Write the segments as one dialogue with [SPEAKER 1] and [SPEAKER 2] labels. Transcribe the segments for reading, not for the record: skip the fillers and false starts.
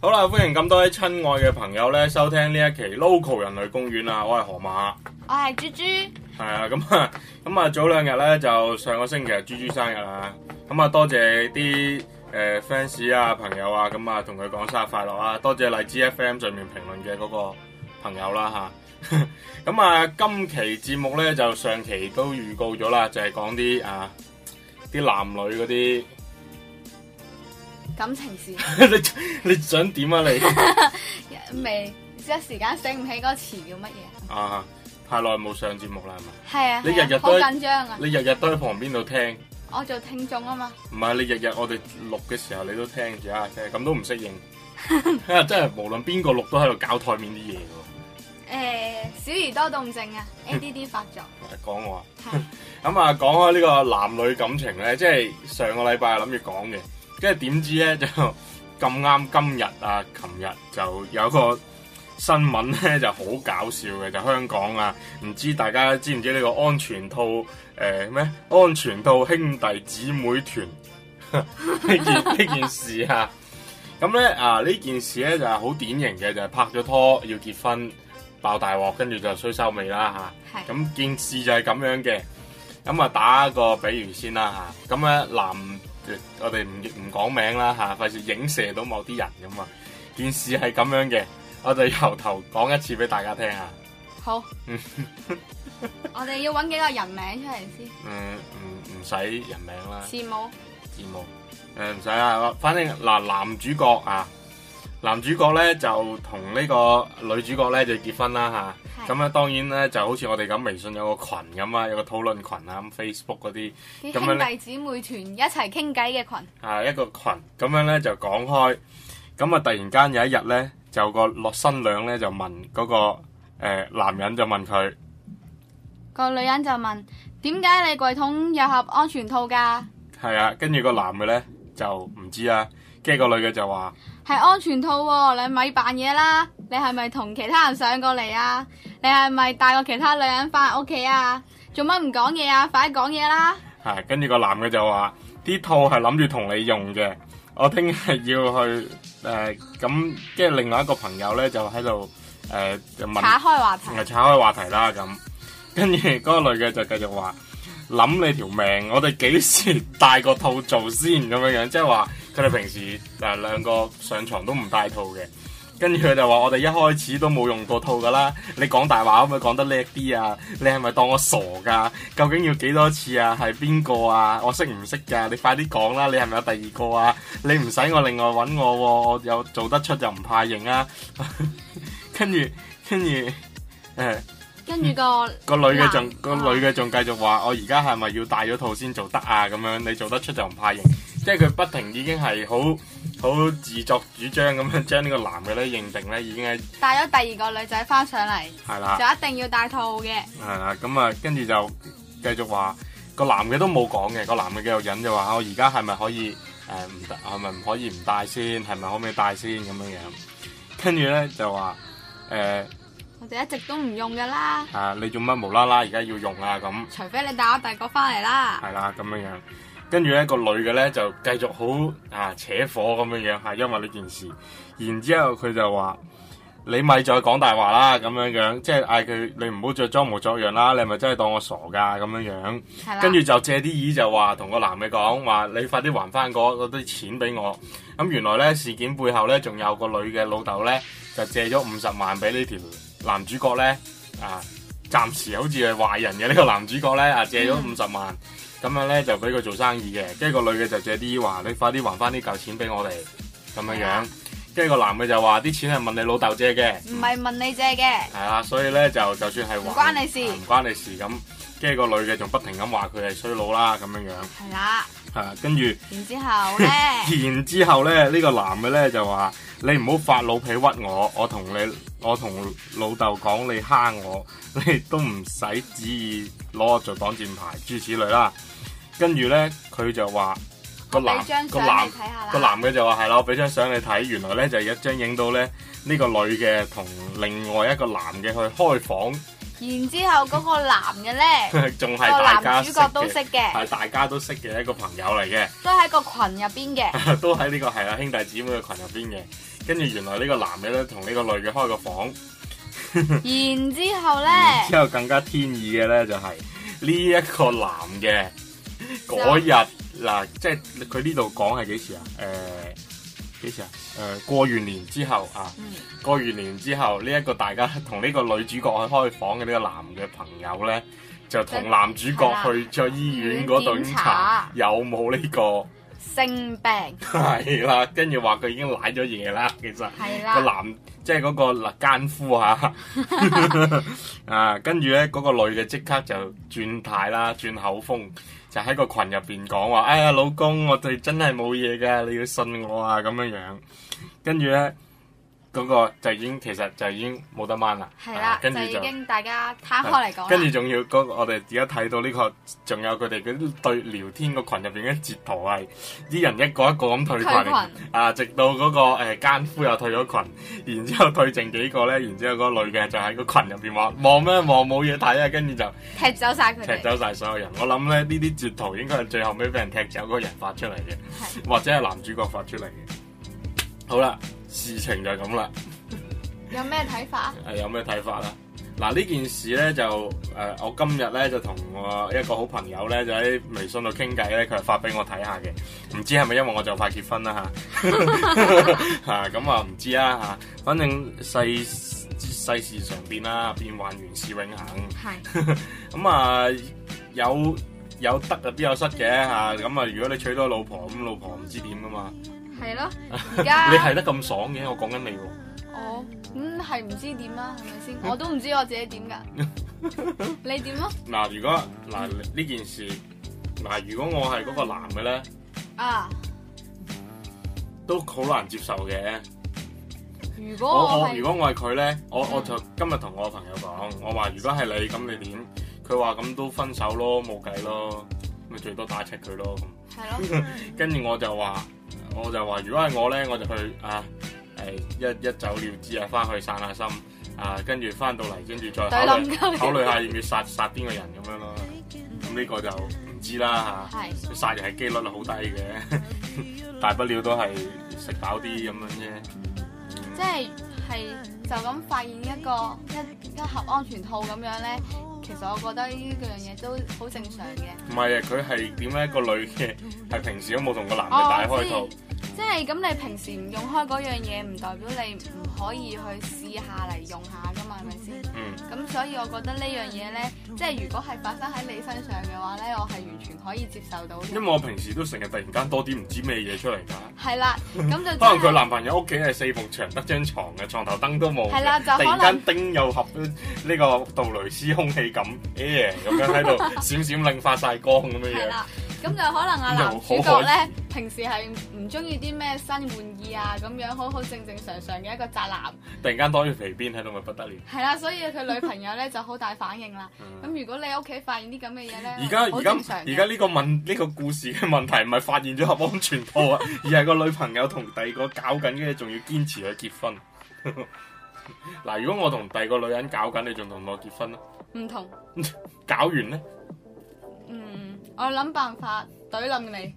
[SPEAKER 1] 好啦，歡迎咁多位親愛嘅朋友咧收聽呢一期 Local 人類公園啊！我係河馬，
[SPEAKER 2] 我係豬豬。
[SPEAKER 1] 係啊，咁啊早兩日咧就上個星期係豬豬生日啦，咁啊多謝啲fans 啊朋友啊，咁啊同佢講生日快樂啊！多謝荔枝 FM 上面評論嘅嗰個朋友啦吓，咁啊今期節目咧就上期都預告咗啦，就係講啲男女嗰啲
[SPEAKER 2] 感情事。
[SPEAKER 1] 你想點啊你？
[SPEAKER 2] 未一時間醒唔起嗰個詞叫乜嘢？
[SPEAKER 1] 啊，太耐冇上節目啦，係咪？
[SPEAKER 2] 係啊，
[SPEAKER 1] 你日日都
[SPEAKER 2] 好緊張啊！
[SPEAKER 1] 你日日都喺旁邊度聽。
[SPEAKER 2] 我做聽眾啊嘛。
[SPEAKER 1] 唔係，你日日我哋錄嘅時候你都聽住啊，咁都唔適應。真係無論邊個錄都喺度搞台面啲嘢喎。
[SPEAKER 2] 小兒多動症啊，ADD 發作。
[SPEAKER 1] 講我啊。咁啊，講開呢個男女感情咧，即係上個禮拜諗住講嘅，跟住點知咧就咁啱今日啊，琴日就有個新聞咧就好搞笑嘅，就香港啊，唔知大家知唔知呢個安全套咩？安全套兄弟姊妹團呢件事啊，咁咧呢件事咧就係好典型嘅，就係拍咗拖要結婚爆大鑊，跟住就衰收尾啦吓。咁件事就係咁樣嘅，咁啊打個比喻先啦吓。咁咧我哋唔講名啦吓，費事影射到某啲人咁啊。件事係咁樣嘅。我哋由頭講一次俾大家聽下。
[SPEAKER 2] 好。我哋要揾幾個人名出嚟先。
[SPEAKER 1] 唔使人名啦。
[SPEAKER 2] 字母。
[SPEAKER 1] 唔使啦。反正男主角啊，男主角咧就同呢個女主角咧就結婚啦吓。咁咧當然咧就好似我哋咁微信有個群咁啊，有個討論群啊，咁 Facebook 嗰啲。
[SPEAKER 2] 啲兄弟姊妹團一齊傾偈嘅群。
[SPEAKER 1] 係一個群，咁樣咧就講開。咁啊突然間有一日咧。就個新娘咧就問嗰個男人就問佢，
[SPEAKER 2] 個女人就問點解你櫃桶有盒安全套㗎？
[SPEAKER 1] 係啊，跟住個男嘅咧就唔知啦，跟住個女嘅就話
[SPEAKER 2] 係安全套喎，你咪扮嘢啦！你係咪同其他人上過嚟啊？你係咪帶過其他女人翻屋企啊？做乜唔講嘢啊？快啲講嘢啦！
[SPEAKER 1] 係，跟住個男嘅就話啲套係諗住同你用嘅。我聽日要去咁，即係另外一個朋友咧就喺度就問，
[SPEAKER 2] 岔開話題，
[SPEAKER 1] 岔開話題啦咁。跟住嗰個女嘅就繼續話諗你條命，我哋幾時帶個套做先咁樣樣，即係話佢哋平時兩個上床都唔帶套嘅。跟住佢就話我哋一開始都冇用過套噶啦，你講大話可唔可以講得叻啲啊？你係咪當我傻噶？究竟要幾多次啊？係邊個啊？我識唔識噶？你快啲講啦！你係咪有第二個啊？你唔使我另外搵我，我有做得出就唔怕認啊！跟住個女嘅仲繼續話我而家係咪要戴咗套先做得啊？咁樣你做得出就唔怕認，即係佢不停已經係好自作主張咁樣將呢個男嘅咧認定咧已經係
[SPEAKER 2] 帶咗第二個女仔翻上嚟，
[SPEAKER 1] 係啦，
[SPEAKER 2] 就一定要戴套嘅。
[SPEAKER 1] 係啦，咁啊跟住就繼續話個男嘅都冇講嘅，個男嘅繼續忍就話我而家係咪可以唔得，係咪唔可以唔戴先？係咪可唔可以戴先咁樣樣？跟住咧就話
[SPEAKER 2] 我哋一直都唔用噶啦。
[SPEAKER 1] 你做乜無啦啦而家要用啊？咁
[SPEAKER 2] 除非你帶咗第二個翻嚟啦。
[SPEAKER 1] 係啦，咁樣樣。跟住咧個女嘅咧就繼續好扯火咁樣樣，係因為呢件事。然之後佢就話你咪再講大話啦，咁樣樣，即係嗌佢你唔好再裝模作樣啦，你係咪真係當我傻噶咁樣樣？係啦。跟住就借啲意就話同個男嘅講話，你快啲還翻嗰啲錢俾我。咁原來咧事件背後咧仲有個女嘅老豆咧就借咗50萬俾呢條男主角咧暫時好似係壞人嘅呢個男主角咧借咗50萬。咁樣咧就俾佢做生意嘅，跟住個女嘅就借啲話，你快啲還翻呢嚿錢俾我哋，咁樣樣。跟住個男嘅就話啲錢係問你老豆借嘅，
[SPEAKER 2] 唔係問你借嘅。係
[SPEAKER 1] 啦，所以咧就算係
[SPEAKER 2] 唔關你事，
[SPEAKER 1] 唔關你事咁。跟住個女嘅仲不停咁話佢係衰佬啦，咁樣樣。
[SPEAKER 2] 係啦。
[SPEAKER 1] 跟住。
[SPEAKER 2] 然之後咧。
[SPEAKER 1] 然之後咧，呢個男嘅咧就話你唔好發老脾屈我，我同老豆講你蝦我，你都唔使旨意攞我做擋箭牌，諸如此類啦。跟住咧，佢就話個男嘅就話係啦，我俾張相你睇，原來咧就係一張影到咧呢個女嘅同另外一個男嘅去開房
[SPEAKER 2] 然之後嗰個男嘅咧，
[SPEAKER 1] 仲係
[SPEAKER 2] 個
[SPEAKER 1] 大家
[SPEAKER 2] 男主角都識
[SPEAKER 1] 嘅，
[SPEAKER 2] 嘅，
[SPEAKER 1] 係大家都識嘅一個朋友嚟嘅，
[SPEAKER 2] 都喺個群入邊嘅。
[SPEAKER 1] 都喺呢個係啦兄弟姊妹嘅群入邊嘅。跟住原來呢個男嘅咧同呢個女嘅開個房，
[SPEAKER 2] 然之後咧，
[SPEAKER 1] 之後更加天意嘅咧就係呢一個男嘅嗰日嗱，即係佢呢度講係幾時啊？幾時啊？過完年之後啊，過完年之後呢一個大家同呢個女主角去開房嘅呢個男嘅朋友咧，就同男主角去咗醫院嗰度檢查有冇呢個
[SPEAKER 2] 性病。
[SPEAKER 1] 係啦，跟住話佢已經舐咗嘢啦，其實個男即係嗰個奸夫嚇啊，跟住咧嗰個女嘅即刻就轉態啦，轉口風。就喺個群入邊講話，哎呀老公，我哋真係冇嘢㗎，你要信我啊咁樣樣。跟住咧嗰個就已經其實就已經冇得掹啦。
[SPEAKER 2] 係啦，
[SPEAKER 1] 跟住
[SPEAKER 2] 就已經大家攤開嚟講。
[SPEAKER 1] 跟住仲要嗰我哋而家睇到呢個，仲有佢哋嗰啲對聊天個群入邊嘅截圖係啲人一個一個咁退群啊，直到嗰個奸夫又退咗群，然之後退剩幾個咧，然之後嗰個女嘅就喺個群入邊話望咩望，冇嘢睇啊，跟住就
[SPEAKER 2] 踢走曬佢哋，
[SPEAKER 1] 踢走曬所有人。我諗咧呢啲截圖應該係最後尾俾人踢走嗰個人發出嚟嘅，或者係男主角發出嚟嘅。好啦，事情就係咁啦。
[SPEAKER 2] 有咩睇法啊？
[SPEAKER 1] 有咩睇法啦？嗱，呢件事咧就我今日咧就同我一個好朋友咧就喺微信度傾偈咧，佢係發俾我睇下嘅，唔知係咪因為我就快結婚啦嚇咁啊唔知啦嚇，反正世事常變啦，變幻原是永恆。係咁啊有得啊，必有失嘅嚇，咁啊如果你娶到老婆，咁老婆唔知點噶嘛。係
[SPEAKER 2] 咯，而家
[SPEAKER 1] 你係得咁爽嘅，我講緊你喎。
[SPEAKER 2] 哦，咁係唔知點啦，係咪先？我都唔知我自己點噶，你點咯？
[SPEAKER 1] 嗱，如果呢件事，如果我係嗰個男嘅咧，都好難接受嘅。如果我係佢咧，我就今日同我朋友講，我話如果係你咁你點？佢話咁都分手咯，冇計咯，咪最多打柒佢咯咁。係咯。跟住我就話，如果係我咧，我就去一走了之啊，翻去散下心啊，跟住翻到嚟，跟住再考慮下要唔要殺邊個人咁樣咯。咁呢個就唔知啦嚇。殺人係機率係好低嘅，大不了都係食飽啲咁樣啫。
[SPEAKER 2] 即係就咁發現一盒安全套咁樣咧，其實我覺得呢樣嘢都好正常嘅。唔係啊，佢係點咧？個女嘅係平時都冇同個男嘅戴開套。即係咁，你平時唔用開嗰樣嘢，唔代表你唔可以去試下嚟用下噶嘛，係咪先？咁所以我覺得呢樣嘢咧，即係如果係發生喺你身上嘅話咧，我係完全可以接受到嘅。因為我平時都成日突然間多啲唔知咩嘢出嚟㗎。係啦，咁就可能佢男朋友屋企係4埲牆得張床嘅，床頭燈都冇。係啦，就突然間叮又合呢個杜蕾斯空氣感，咁樣喺度閃閃令發晒光咁樣樣。咁就可能男主角咧，平時係唔中意啲咩新玩意啊，咁樣好正常嘅一個宅男。突然間多條肥辮喺度咪不得了。係啦，所以佢女朋友咧就好大反應啦。咁如果你屋企發現啲咁嘅嘢咧，而家呢個故事嘅問題唔係發現咗盒安全套啊，而係個女朋友同第二個搞緊嘅，仲要堅持去結婚。嗱，如果我同第二個女人搞緊，你仲同我結婚咯？唔同。搞完咧？我諗辦法懟冧你，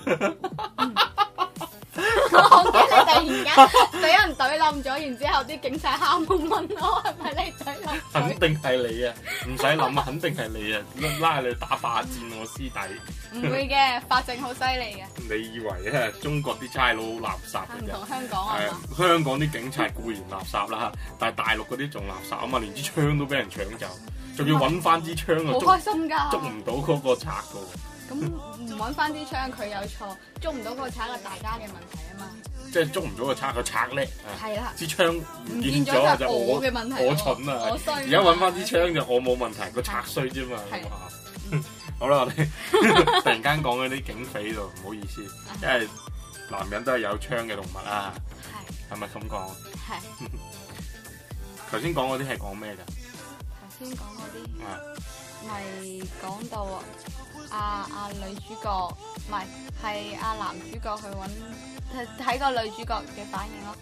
[SPEAKER 2] 我驚你突然間俾人懟冧咗，然之後啲警察敲門問我係咪你懟冧？肯定係你啊，唔使諗啊，肯定係你啊，拉你打霸佔我師弟。唔會嘅，法證好犀利嘅。你以為咧中國啲差佬好垃圾嘅啫？唔同香港啊嘛。香港啲警察固然垃圾啦，但係大陸嗰啲仲垃圾啊嘛，連支槍都俾人搶走。仲要揾翻支槍啊！好開心㗎，捉唔到嗰個賊㗎喎。咁唔揾翻支槍，佢有錯；捉唔到嗰個賊係大家嘅問題啊嘛。即係捉唔到個賊，個賊叻啊！係啦，支槍唔見咗就我嘅問題，我蠢啊！我衰。而家揾翻支槍就我冇問題，個賊衰啫嘛。好啦，我哋突然間講嗰啲警匪度，唔好意思，因為男人都係有槍嘅動物啊。係咪咁講？係。頭先講嗰啲係講咩㗎？先講嗰啲，咪講到女主角，唔係男主角去睇個女主角嘅反應咯。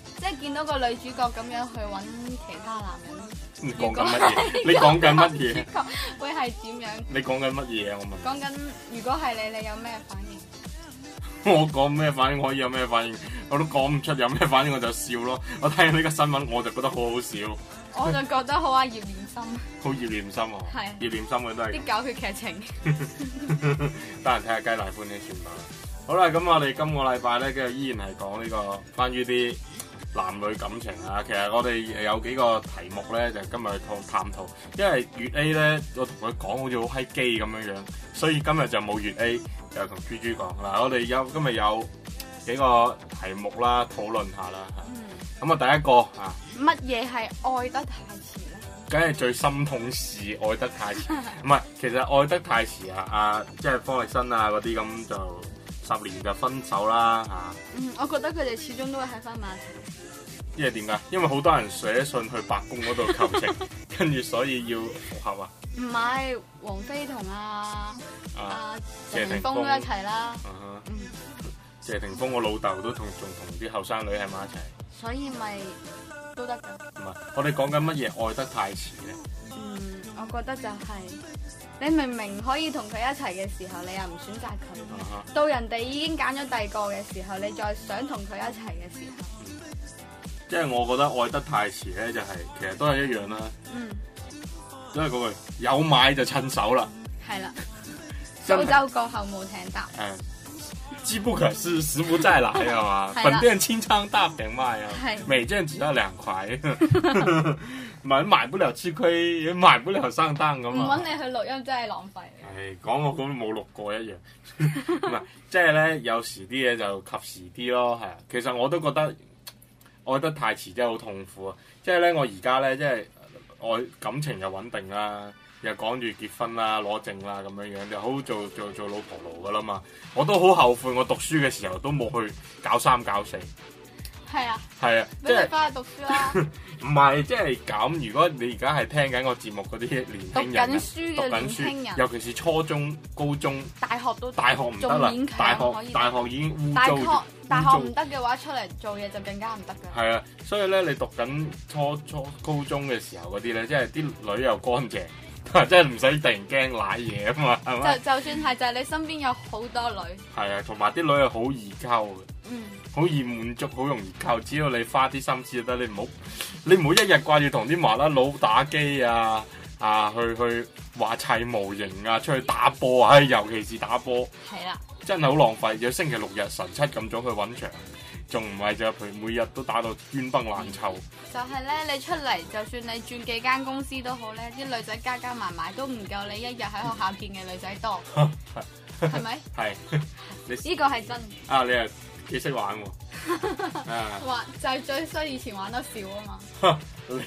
[SPEAKER 2] 即係見到個女主角咁樣去揾其他男人。
[SPEAKER 1] 你講緊乜嘢？你講緊乜嘢？
[SPEAKER 2] 會係點樣？
[SPEAKER 1] 你講緊乜嘢啊？我問。
[SPEAKER 2] 講緊如果係你，你有咩反應？
[SPEAKER 1] 我講咩反應可以有咩反應？我都講唔出有咩反應，我就笑咯。我睇呢個新聞我就覺得好好笑。
[SPEAKER 2] 我就覺得好啊，葉念琛。
[SPEAKER 1] 好葉念琛喎。係。葉念琛嘅都係。
[SPEAKER 2] 啲狗血劇情。
[SPEAKER 1] 得閒睇下雞奶歡喜算吧。好啦，咁我哋今個禮拜咧，繼續依然係講呢個關於啲男女感情啊。其實我哋有幾個題目咧，就今日去探討。因為粵 A 咧，我同佢講好似好閪基咁樣樣，所以今日就冇粵 A，就同豬豬講嗱。我哋今日有幾個題目啦，討論下啦。咁啊，第一個啊，
[SPEAKER 2] 乜嘢係愛得太遲咧？
[SPEAKER 1] 梗係最心痛是愛得太遲，唔係，其實愛得太遲啊！即係方力申啊嗰啲咁就10年就分手啦嚇。
[SPEAKER 2] 我覺得佢哋始終都會喺翻埋一齊。
[SPEAKER 1] 因為點解？因為好多人寫信去白宮嗰度求情，跟住所以要復合啊。
[SPEAKER 2] 唔係，王菲同謝霆鋒都一齊啦。
[SPEAKER 1] 謝霆鋒我老豆都仲同啲後生女喺埋一齊。
[SPEAKER 2] 所以咪都得㗎。
[SPEAKER 1] 唔係，我哋講緊乜嘢愛得太遲咧？
[SPEAKER 2] 我覺得就係、你明明可以同佢一齊嘅時候，你又唔選擇佢，到人哋已經揀咗第二個嘅時候，你再想同佢一齊嘅時候，
[SPEAKER 1] 即係我覺得愛得太遲咧，就係其實都係一樣啦。都係嗰句有買就趁手啦。係啦，
[SPEAKER 2] 蘇州過後冇艇搭。
[SPEAKER 1] 機不可失，時不再來係嘛？本店清倉大平賣啊，每件只要2塊，買不了吃虧，也買不了上當咁啊！
[SPEAKER 2] 唔揾你去錄音真係浪費。
[SPEAKER 1] 係講我咁冇錄過一樣，唔係即係咧，有時啲嘢就及時啲咯，係啊。其實我都覺得愛得太遲真係好痛苦啊！即係咧，我而家咧即係愛感情又穩定啦。又趕住結婚啦、攞證啦咁樣樣，就好做老婆奴噶啦嘛。我都好後悔，我讀書嘅時候都冇去搞3搞4。係啊，係啊，即係翻去讀書啦。唔係，即係咁。如果你而家係聽緊我節目嗰啲年輕人，讀緊書嘅，尤其是初中、高中、大學唔得啦。大學已經污糟。
[SPEAKER 2] 大學唔得嘅話，出嚟做嘢就更加唔得㗎。
[SPEAKER 1] 係啊，所以咧，你讀緊初高中嘅時候嗰啲咧，即係啲女又乾淨。即係唔使突然驚瀨嘢啊嘛，係咪？就算係，就係你身邊有好多女。係啊，同埋啲女係好易溝嘅，好易滿足，好容易溝。只要你花啲心思就得，你唔好一日掛住同啲麻甩佬打機啊，去話砌模型啊，出去打波啊，尤其是打波。係啦，真係好浪費。有星期六日晨7咁早去揾場。仲唔係就佢每日都打到冤崩爛臭。就係咧，你出嚟就算你轉幾間公司都好咧，啲女仔加加埋埋都唔夠你一日喺學校見嘅女仔多，係咪？係。呢個係真。啊，你又幾識玩喎？玩就係最衰，以前玩得少啊嘛。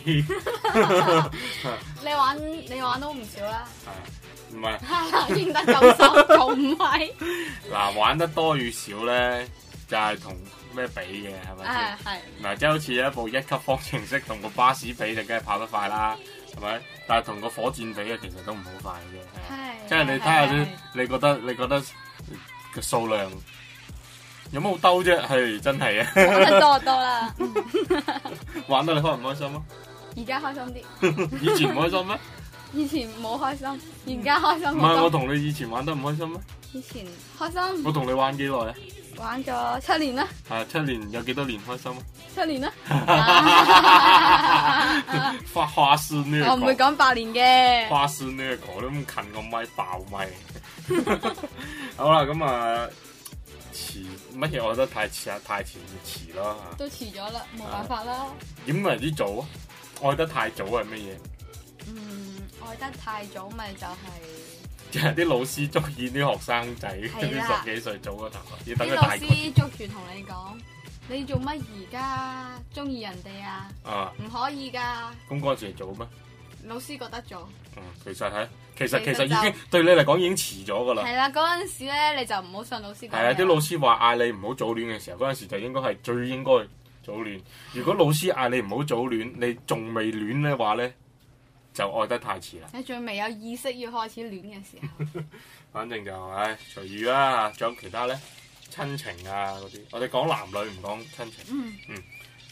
[SPEAKER 1] 你玩都唔少啦。係。唔係。贏得夠手，仲唔係？嗱，玩得多與少咧，就係同咩比嘅係咪？係嗱，即係好似一部1級方程式同個巴士比，就梗係跑得快啦，係咪？但係同個火箭比嘅，其實都唔好快嘅。係，即係你睇下啲，你覺得個數量有乜好兜啫？係真係啊！玩得多啦，玩得你開唔開心啊？而家開心啲。以前唔開心咩？以前冇開心，而家開心。唔係我同你以前玩得唔開心咩？以前開心。我同你玩幾耐啊？玩咗7年啦。係7年，有幾多年開心啊？7年啦。花式呢個？我唔會講8年嘅。花式呢個都咁近個咪爆咪。好啦，咁啊遲乜嘢？我覺得太遲啊，太遲就遲咯嚇。都遲咗啦，冇辦法啦。點為之早啊？愛得太早係乜嘢？愛得太早咪就係。即係啲老師中意啲學生仔，啲10幾歲早嗰頭，要等佢大個。啲老師捉住同你講：你做乜而家中意人哋啊？啊，唔可以㗎。咁嗰陣時早咩？老師覺得早。其實已經對你嚟講已經遲咗㗎啦。係啦，嗰陣時咧你就唔好信老師講。係啊，啲老師話嗌你唔好早戀嘅時候，嗰陣時就應該係最應該早戀。如果老師嗌你唔好早戀，你仲未戀嘅話咧，就愛得太遲啦！你仲未有意識要開始戀嘅時候，反正就隨遇啦。仲有其他咧，親情啊嗰啲，我哋講男女唔講親情。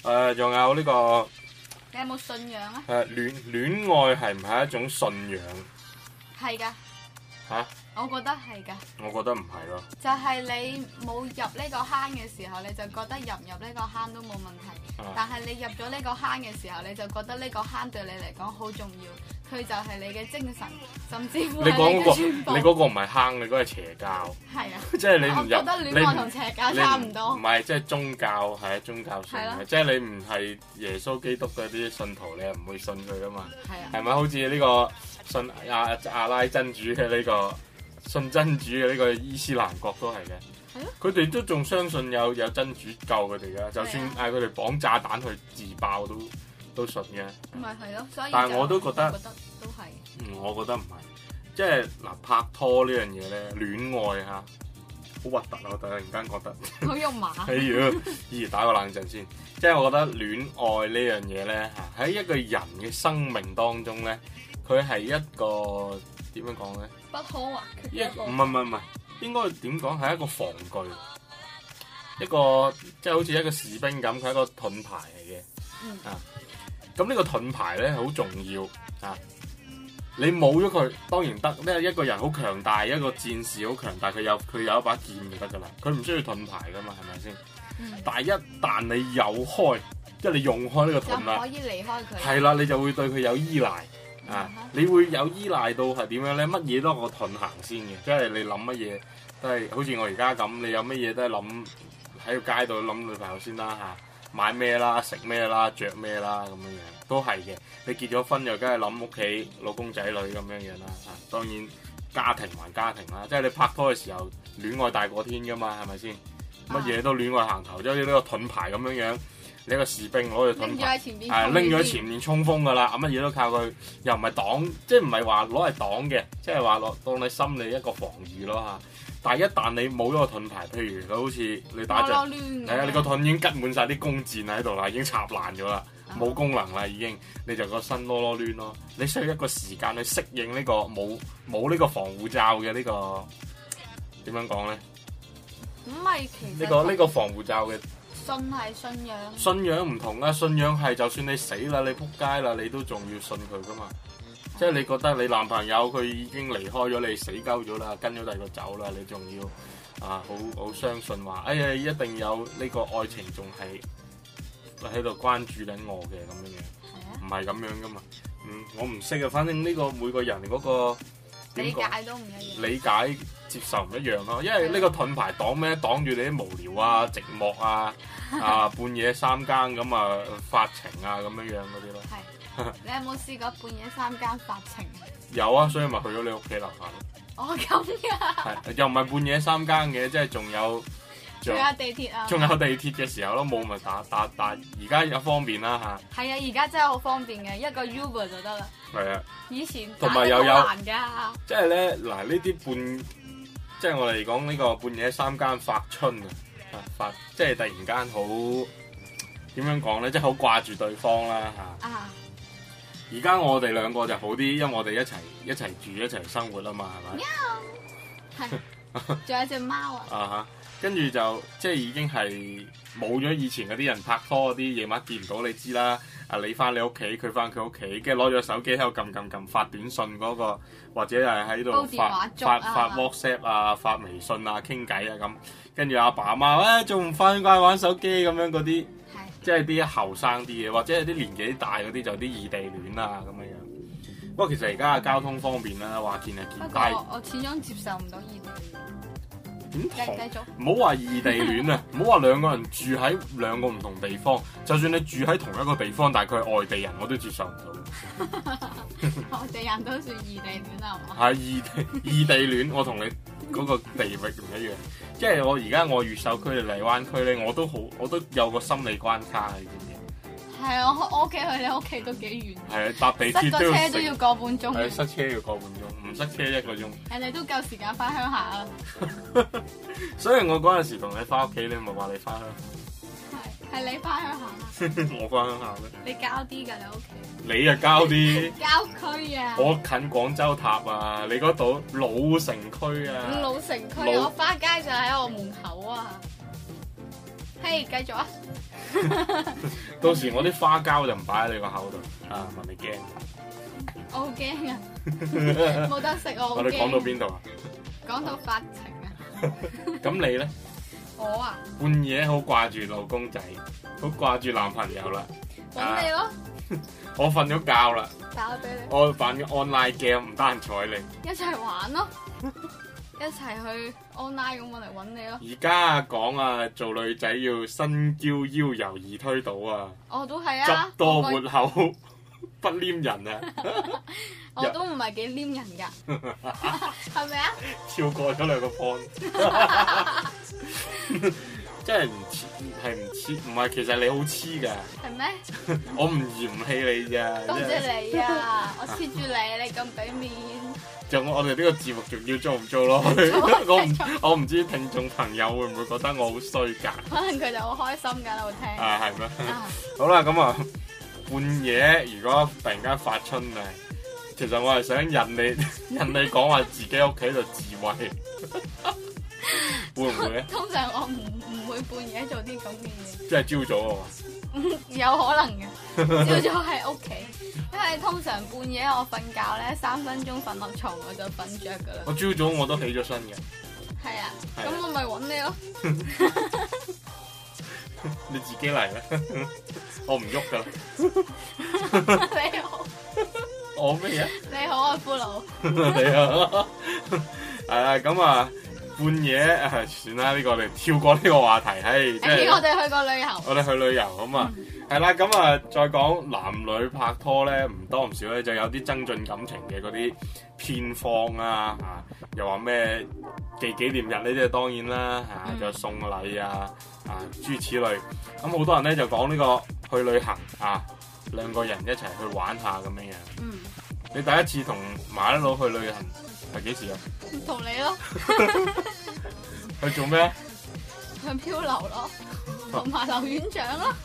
[SPEAKER 1] 仲有呢個。
[SPEAKER 2] 你有冇信仰啊？
[SPEAKER 1] 戀愛係唔係一種信仰？
[SPEAKER 2] 係㗎。
[SPEAKER 1] 嚇？
[SPEAKER 2] 我覺得係㗎。
[SPEAKER 1] 我覺得唔係咯。
[SPEAKER 2] 就係你冇入呢個坑嘅時候，你就覺得入唔入呢個坑都冇問題。但係你入咗呢個坑嘅時候，你就覺得呢個坑對你嚟講好重要。佢就係你嘅精神，甚至乎係你嘅全部。
[SPEAKER 1] 你嗰個唔係坑，你嗰個係邪教。
[SPEAKER 2] 係啊。
[SPEAKER 1] 即係你唔入。
[SPEAKER 2] 我覺得戀愛同邪教差唔多。
[SPEAKER 1] 唔係，即係宗教係宗教性嘅，即係你唔係耶穌基督嗰啲信徒，你係唔會信佢噶嘛。係啊。係咪好似呢個信阿拉真主嘅呢個信真主嘅呢個伊斯蘭國都係嘅。係咯。佢哋都仲相信有真主救佢哋㗎，就算嗌佢哋綁炸彈去自爆都信嘅。
[SPEAKER 2] 咪係咯，所以
[SPEAKER 1] 但係我都覺得
[SPEAKER 2] 都係。
[SPEAKER 1] 我覺得唔係，即係嗱拍拖呢樣嘢咧，戀愛嚇好核突啊！我突然間覺得
[SPEAKER 2] 好肉麻。
[SPEAKER 1] 打個冷震先，即係我覺得戀愛呢樣嘢咧嚇喺一個人嘅生命當中咧，佢係一個點樣講咧？
[SPEAKER 2] 不可或缺嘅一個。
[SPEAKER 1] 唔係，應該點講係一個防具，一個即係好似一個士兵咁，佢係一個盾牌嚟嘅。咁呢個盾牌咧好重要啊！你冇咗佢當然得，因為一個人好強大，一個戰士好強大，佢有一把劍就得噶啦，佢唔需要盾牌噶嘛，係咪先？但係一旦你有開，即係你用開呢個盾啦，
[SPEAKER 2] 就可以離開佢。
[SPEAKER 1] 係啦，你就會對佢有依賴啊！你會有依賴到係點樣咧？乜嘢都係個盾行先嘅，即係你諗乜嘢都係好似我而家咁，你有乜嘢都係諗喺個街度諗女朋友先啦嚇。買咩啦，食咩啦，着咩啦，咁樣樣都係嘅。你結咗婚又梗係諗屋企老公仔女咁樣樣啦。當然家庭還家庭啦，即係你拍拖嘅時候，戀愛大過天噶嘛，係咪先？乜嘢都戀愛行頭，即係呢個盾牌咁樣樣。你一個士兵攞住盾牌，拎咗喺前面衝鋒噶啦，乜嘢都靠佢，又唔係擋，即係唔係話攞嚟擋嘅，即係話當你心理一個防禦咯嚇。但係一旦你冇咗個盾牌，譬如佢好似你打仗，係啊，你個盾已經吉滿晒啲弓箭喺度啦，已經插爛咗啦，冇功能啦已經，你就個身囉囉攣咯。你需要一個時間去適應呢個冇呢個防護罩嘅呢個點樣講咧？
[SPEAKER 2] 咁咪其實
[SPEAKER 1] 呢個防護罩嘅
[SPEAKER 2] 信係信仰。
[SPEAKER 1] 信仰唔同啊，信仰係就算你死啦，你仆街啦，你都仲要信佢噶嘛。即係你覺得你男朋友佢已經離開咗你，死鳩咗啦，跟咗第二個走啦，你仲要好相信話，哎呀一定有呢個愛情仲係喺度關注緊我嘅咁樣樣，唔係咁樣噶嘛。我唔識啊，反正呢個每個人嗰個
[SPEAKER 2] 理解都唔一樣，
[SPEAKER 1] 理解接受唔一樣咯。因為呢個盾牌擋咩？擋住你啲無聊啊、寂寞啊、半夜三更咁啊發情啊咁樣樣嗰啲咯。
[SPEAKER 2] 你有冇試過半夜三更發情？
[SPEAKER 1] 有啊，所以咪去咗你屋企樓下咯。
[SPEAKER 2] 哦，咁㗎。係，
[SPEAKER 1] 又唔係半夜三更嘅，即係仲有
[SPEAKER 2] 地鐵啊。
[SPEAKER 1] 仲有地鐵嘅時候咯，冇咪打。而家有方便啦嚇。係
[SPEAKER 2] 啊，而家真係好方便嘅，一個 Uber 就得啦。係啊。以前
[SPEAKER 1] 同埋又有
[SPEAKER 2] 難㗎。
[SPEAKER 1] 即係咧嗱，呢啲即係我哋講呢個半夜三更發春啊，即係突然間好點樣講咧，即係好掛住對方啦嚇。而家我哋兩個就好啲，因為我哋一齊住一齊生活啊嘛，係咪？
[SPEAKER 2] 係，仲有隻貓啊！
[SPEAKER 1] 跟住就即係已經係冇咗以前嗰啲人拍拖嗰啲夜晚見唔到你知啦。你翻你屋企，佢翻佢屋企，跟住攞咗手機喺度撳發短信嗰個，或者係喺度發 WhatsApp 啊、發微信啊、傾偈啊咁。跟住阿爸阿媽仲唔翻返玩手機咁樣嗰啲。即係啲後生啲嘅，或者係啲年紀大嗰啲就啲異地戀啊咁樣樣。不過其實而家嘅交通方便啦，話見係見。不過
[SPEAKER 2] 我始終接受唔到異地戀。
[SPEAKER 1] 點同？唔好話異地戀啊，唔好話兩個人住喺兩個唔同地方，就算你住喺同一個地方，但係佢係外地人，我都接受唔到。
[SPEAKER 2] 外地人都算異地戀啊？係嘛？
[SPEAKER 1] 係異地戀，我同你嗰個地域唔一樣。即係我而家我越秀區嚟荔灣區咧，我都有個心理關卡嘅，知唔知？係
[SPEAKER 2] 啊，我屋企去你屋企都幾遠。
[SPEAKER 1] 係啊，搭地鐵都
[SPEAKER 2] 塞車都要個半鐘。
[SPEAKER 1] 係塞車要個半鐘，唔塞車1個鐘。
[SPEAKER 2] 人哋都夠時間翻鄉下啊！
[SPEAKER 1] 所以我嗰陣時同你翻屋企，你咪話你翻鄉下。
[SPEAKER 2] 係你翻鄉下。
[SPEAKER 1] 我翻鄉下咩？
[SPEAKER 2] 你郊啲㗎，你屋企。
[SPEAKER 1] 你啊郊啲。
[SPEAKER 2] 郊區啊。
[SPEAKER 1] 我近廣州塔啊，你嗰度老城區啊。
[SPEAKER 2] 老城區，我花街就喺我門口啊。 嘿，繼續啊！
[SPEAKER 1] 到時我啲花膠就唔擺喺你個口度啊，問你驚？
[SPEAKER 2] 我好驚啊！冇得食我好驚。
[SPEAKER 1] 我哋講到邊度啊？
[SPEAKER 2] 講到發情啊！
[SPEAKER 1] 咁你咧？
[SPEAKER 2] 我啊，
[SPEAKER 1] 半夜好掛住老公仔，好掛住男朋友啦。
[SPEAKER 2] 揾你咯！
[SPEAKER 1] 我瞓咗覺啦。
[SPEAKER 2] 打俾你。
[SPEAKER 1] 我玩咗 online game，唔得閒睬你。
[SPEAKER 2] 一齊玩咯！一齊去 online 咁我嚟揾你咯。
[SPEAKER 1] 而家講啊，做女仔要身嬌腰柔易推倒啊。
[SPEAKER 2] 我都係啊。
[SPEAKER 1] 汁多活口不黏人啊。
[SPEAKER 2] 我都唔係幾黏人㗎，係咪啊？
[SPEAKER 1] 跳過咗兩個 point。真係唔黐，係唔黐，唔係其實你好黐㗎。係咩？我唔嫌棄你咋。
[SPEAKER 2] 多謝你啊！我黐住你，你咁俾面。
[SPEAKER 1] 就我哋呢個節目仲要做唔做咯？我唔知聽眾朋友會唔會覺得我好衰㗎？
[SPEAKER 2] 可能佢就好開心㗎喺度聽。
[SPEAKER 1] 啊，係咩？好啦，咁啊，半夜如果突然間發春啊，其實我係想引你講話自己屋企度自慰。會唔會咧？通常我唔會半夜做啲咁嘅嘢。即係朝早啊？
[SPEAKER 2] 有可能嘅，朝早喺屋企，因為通常半夜我瞓覺咧3分鐘瞓落床我就瞓着噶啦。我
[SPEAKER 1] 朝早我都起咗身嘅。係
[SPEAKER 2] 啊，咁我咪揾你咯。
[SPEAKER 1] 你自己嚟啦，我唔喐噶啦。
[SPEAKER 2] 你好。
[SPEAKER 1] 我咩啊？
[SPEAKER 2] 你好啊，俘虜。
[SPEAKER 1] 你好。係啊，咁啊。半夜算啦，呢個我哋跳過呢個話題，係即係
[SPEAKER 2] 我哋去過旅遊。
[SPEAKER 1] 我哋去旅遊咁啊，係啦，咁啊，再講男女拍拖咧，唔多唔少咧，就有啲增進感情嘅嗰啲偏方啊，又話咩記紀念日呢啲，當然啦，就送禮啊，諸如此類。咁好多人咧就講呢個去旅行啊，2個人一齊去玩下咁樣樣。你第一次同麻甩佬去旅行係幾時啊？
[SPEAKER 2] 同你咯。
[SPEAKER 1] 去做咩？
[SPEAKER 2] 去漂流咯，同埋留院長咯。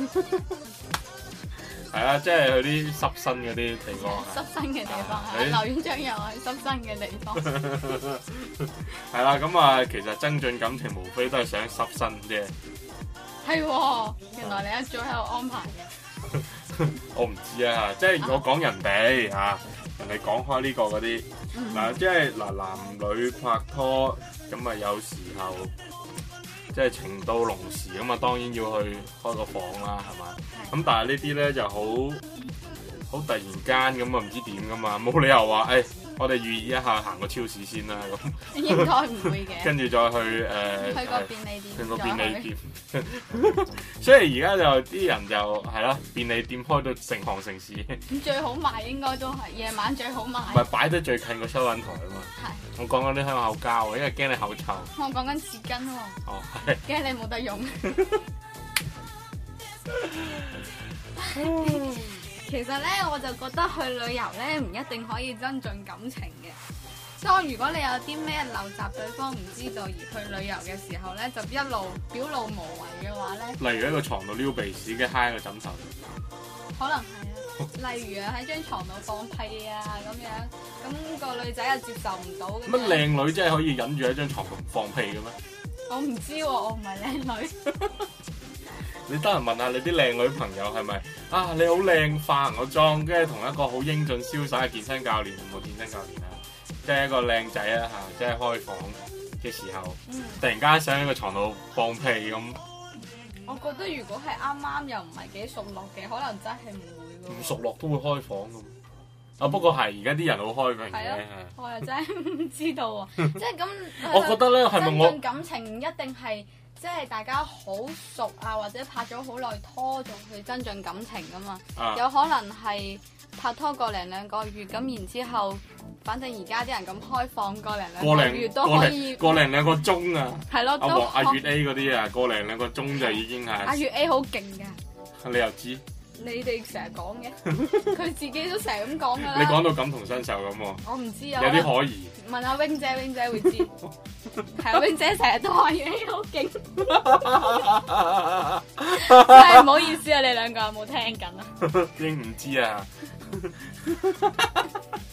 [SPEAKER 1] 係啊，即係去啲濕身嗰啲地方。濕
[SPEAKER 2] 身嘅地方，留院長又係濕身嘅地方。
[SPEAKER 1] 係啦，咁啊，其實增進感情無非都係想濕身啫。係喎，
[SPEAKER 2] 原來你一早喺度安排嘅。
[SPEAKER 1] 我唔知啊，即係我講人哋嚇。人哋講開呢個嗰啲嗱，即係嗱男女拍拖咁啊，有時候即係情到濃時咁啊，當然要去開個房啦，係嘛？咁但係呢啲咧就好突然間咁啊，唔知點噶嘛，冇理由話我哋預意一下行個超市先啦咁。
[SPEAKER 2] 應該唔會嘅。跟住
[SPEAKER 1] 再去
[SPEAKER 2] 去個便利店。去個便利店。
[SPEAKER 1] 所以而家就啲人就係啦，便利店開到成行成市。
[SPEAKER 2] 咁最好賣應該都係夜晚最好賣。
[SPEAKER 1] 唔係擺得最近個收銀台啊嘛。係。我講緊啲香口膠啊，因為驚你口臭。
[SPEAKER 2] 我講緊紙巾喎。哦，係。驚你冇得用。其實咧，我就覺得去旅遊咧唔一定可以增進感情嘅。當如果你有啲咩陋習對方唔知道而去旅遊嘅時候咧，就一路表露無遺嘅話咧，
[SPEAKER 1] 例如喺個床度撩鼻屎嘅揩個枕頭，
[SPEAKER 2] 可能係啊。例如啊喺張床度放屁啊咁樣，咁個女仔又接受唔到。
[SPEAKER 1] 乜靚女真係可以忍住喺張床度唔放屁嘅咩？
[SPEAKER 2] 我唔知喎，我唔係靚女。
[SPEAKER 1] 你得閒問下你啲靚女朋友係咪啊？你好靚，化個妝，跟住同一個好英俊瀟灑嘅健身教練，冇健身教練啊，即係一個靚仔啊嚇，即係開房嘅時候，突然間想喺個床度放屁咁。
[SPEAKER 2] 我覺得如果係啱啱又唔係幾熟絡嘅，可能真係唔會咯。
[SPEAKER 1] 唔熟絡都會開房㗎。啊，不過係而家啲人好開明嘅。
[SPEAKER 2] 我又真係唔知道喎，即係咁。
[SPEAKER 1] 我覺得咧係咪我
[SPEAKER 2] 增進感情唔一定係。即係大家好熟啊，或者拍咗好耐拖仲去增進感情噶嘛，有可能係拍拖個零2個月，咁然之後，反正而家啲人咁開放個零2個月都可以
[SPEAKER 1] 個零2個鐘啊，係咯，阿月 A 嗰啲啊，個零2個鐘就已經係
[SPEAKER 2] 阿月 A 好勁㗎，
[SPEAKER 1] 你又知？
[SPEAKER 2] 你哋成日講嘅，佢自己都成日咁講㗎啦。
[SPEAKER 1] 你講到感同身受咁喎，
[SPEAKER 2] 我唔知啊，
[SPEAKER 1] 有啲可疑。
[SPEAKER 2] 問阿 Wing 姐 ,Wing 姐會知。係啊 ，Wing 姐成日都話嘢好勁。真係唔好意思啊，你2個有冇聽緊啊？
[SPEAKER 1] 應唔知啊。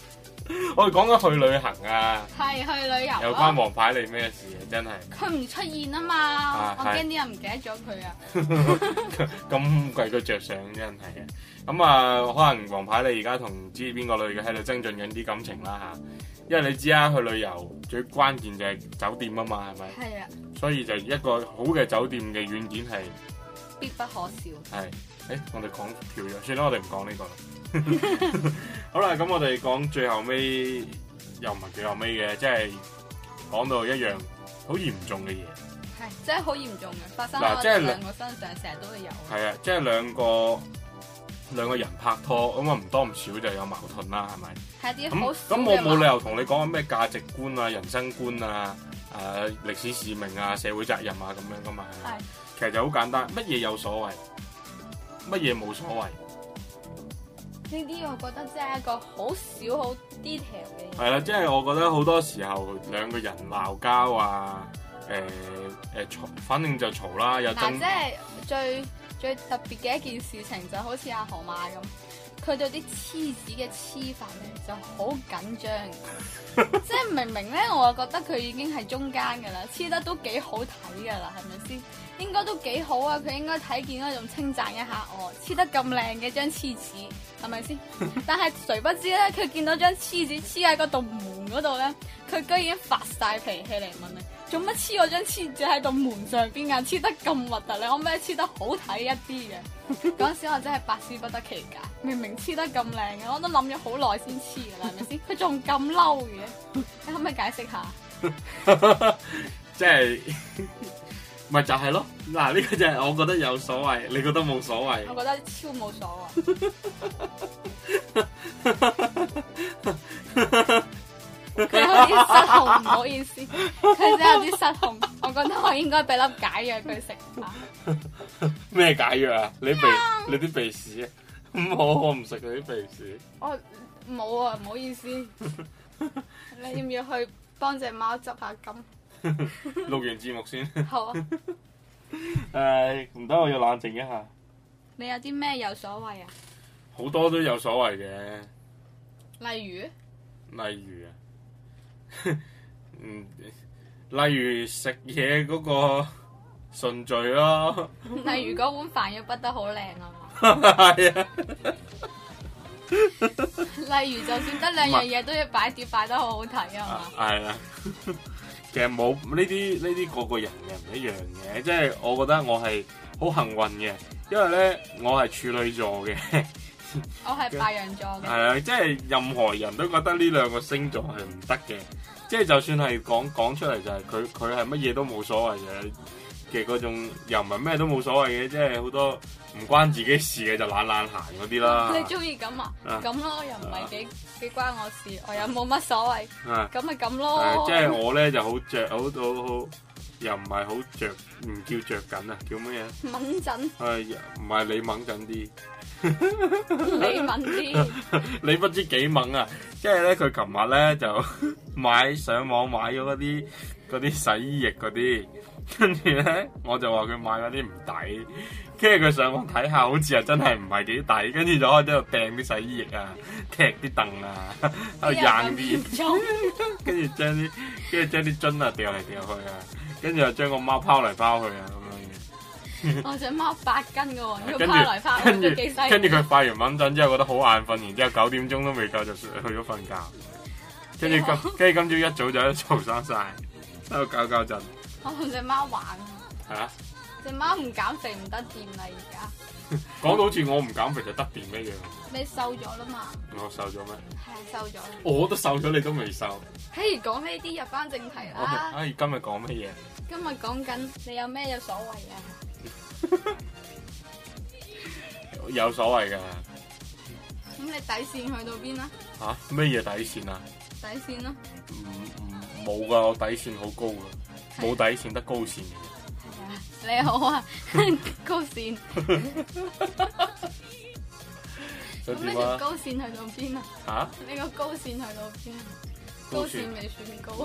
[SPEAKER 1] 我哋講緊去旅行啊，
[SPEAKER 2] 係去旅遊
[SPEAKER 1] 有關黃牌你咩事啊？真係
[SPEAKER 2] 佢唔出現啊嘛，我驚啲人唔記得咗佢啊。
[SPEAKER 1] 咁為佢着想真係啊！咁啊，可能黃牌你而家同唔知邊個女嘅喺度增進緊啲感情啦嚇，因為你知啦，去旅遊最關鍵就係酒店啊嘛，係咪？
[SPEAKER 2] 係啊。
[SPEAKER 1] 所以就一個好嘅酒店嘅軟件係
[SPEAKER 2] 必不可少。
[SPEAKER 1] 係，我哋講跳咗，算啦，我哋唔講呢個啦。好啦，咁我哋講最後尾，又唔係最後尾嘅，即係講到一樣好嚴重嘅嘢。
[SPEAKER 2] 係，真係好嚴重嘅，發生喺我哋兩個身上，成日都會有。
[SPEAKER 1] 係啊，即係兩個人拍拖，咁啊唔多唔少就有矛盾啦，係咪？
[SPEAKER 2] 係啲好
[SPEAKER 1] 咁我冇理由同你講咩價值觀啊、人生觀啊、歷史使命啊、社會責任啊咁樣噶嘛。係。其實就好簡單，乜嘢有所謂，乜嘢冇所謂。
[SPEAKER 2] 呢啲我覺得真係一個好少好 detail 嘅嘢。
[SPEAKER 1] 係啦，即係我覺得好多時候兩個人鬧交啊，嘈，反正就嘈啦，有爭。
[SPEAKER 2] 即係最特別嘅一件事情就好似阿河馬咁，佢對啲黐紙嘅黐法咧就好緊張。即係明明咧，我覺得佢已經係中間㗎啦，黐得都幾好睇㗎啦，係咪先？應該都幾好啊！佢應該睇見嗰種稱讚一下我黐得咁靚嘅張黐紙，係咪先？但係誰不知咧，佢見到張黐紙黐喺嗰道門嗰度咧，佢居然發晒脾氣嚟問你：做乜黐我張黐紙喺道門上邊啊？黐得咁核突，你可唔可以黐得好睇一啲嘅？嗰陣時我真係百思不得其解，明明黐得咁靚嘅，我都諗咗好耐先黐㗎啦，係咪先？佢仲咁嬲嘅，你可唔可以解釋下？
[SPEAKER 1] 即係。咪就係咯，嗱呢個就係我覺得有所謂，你覺得冇所謂？
[SPEAKER 2] 我覺得超冇所謂。佢有啲失控，唔好意思，佢真係有啲失控。我覺得我應該俾粒解藥佢食下。
[SPEAKER 1] 咩解藥啊？你啲鼻屎啊？我唔食佢啲鼻屎。
[SPEAKER 2] 我冇啊，唔好意思。你要唔要去幫隻貓執下金？
[SPEAKER 1] 錄完節目先。
[SPEAKER 2] 好啊。
[SPEAKER 1] 唔得，我要冷靜一下。
[SPEAKER 2] 你有啲咩有所謂啊？
[SPEAKER 1] 好多都有所謂嘅。
[SPEAKER 2] 例如
[SPEAKER 1] 啊，例如食嘢嗰個順序咯。
[SPEAKER 2] 例如嗰碗飯要畢得好靚啊嘛。
[SPEAKER 1] 係啊。
[SPEAKER 2] 例如就算得兩樣嘢都要擺碟擺得好好睇啊嘛。
[SPEAKER 1] 係啊。其實冇呢啲個個人嘅唔一樣嘅，即係我覺得我係好幸運嘅，因為咧我係處女座嘅。
[SPEAKER 2] 我係白羊座嘅。係
[SPEAKER 1] 啊，即係任何人都覺得呢兩個星座係唔得嘅，即係就算係講出嚟就係佢係乜嘢都冇所謂嘅嗰種，又唔係咩都冇所謂嘅，即係好多唔關自己事嘅就懶閒嗰啲啦。
[SPEAKER 2] 你中意咁啊？咁咯，又唔係幾關我事，我又冇乜所謂。咁咪咁咯。
[SPEAKER 1] 即係我咧就好着，好又唔係好着，唔叫着緊啊，叫乜嘢？
[SPEAKER 2] 敏陣。
[SPEAKER 1] 唔係你敏陣啲。
[SPEAKER 2] 你敏啲。
[SPEAKER 1] 你不知幾猛啊！即係咧，佢琴日咧就上網買咗嗰啲洗衣液嗰啲，跟住咧我就話佢買嗰啲唔抵，跟住佢上網睇下，好似又真係唔係幾抵，跟住就開始喺度掟啲洗衣液啊，踢啲凳啊，喺度扔啲，跟住將啲樽啊掉嚟掉去啊，跟住又將個貓拋嚟拋去啊咁樣嘅。
[SPEAKER 2] 我隻貓8斤噶喎，要拋嚟拋去都幾犀利。
[SPEAKER 1] 跟住佢發完敏陣之後覺得好眼瞓，然之後9點鐘都未夠就去咗瞓覺。跟住今朝一早就喺度嘈生晒，喺度搞震。
[SPEAKER 2] 我同隻貓玩
[SPEAKER 1] 啊！
[SPEAKER 2] 隻貓唔減肥唔得掂啦，而家。
[SPEAKER 1] 講到好似我唔減肥就得掂一樣。
[SPEAKER 2] 你瘦咗啦嘛？
[SPEAKER 1] 我瘦咗咩？
[SPEAKER 2] 係瘦咗。
[SPEAKER 1] 我都瘦咗，你都未瘦。
[SPEAKER 2] 嘿，講呢啲入翻正題啦。
[SPEAKER 1] 今日講乜嘢？
[SPEAKER 2] 今日講緊你有咩有所謂啊？
[SPEAKER 1] 有所謂㗎。
[SPEAKER 2] 咁你底線去到邊啊？
[SPEAKER 1] 嚇？咩嘢底線啊？
[SPEAKER 2] 底線咯。
[SPEAKER 1] 冇㗎，我底線好高㗎，冇底線得高線嘅。
[SPEAKER 2] 係啊，你好啊，高線。咁呢條高線去到邊啊？嚇？你個高線去到邊啊？高線未算高。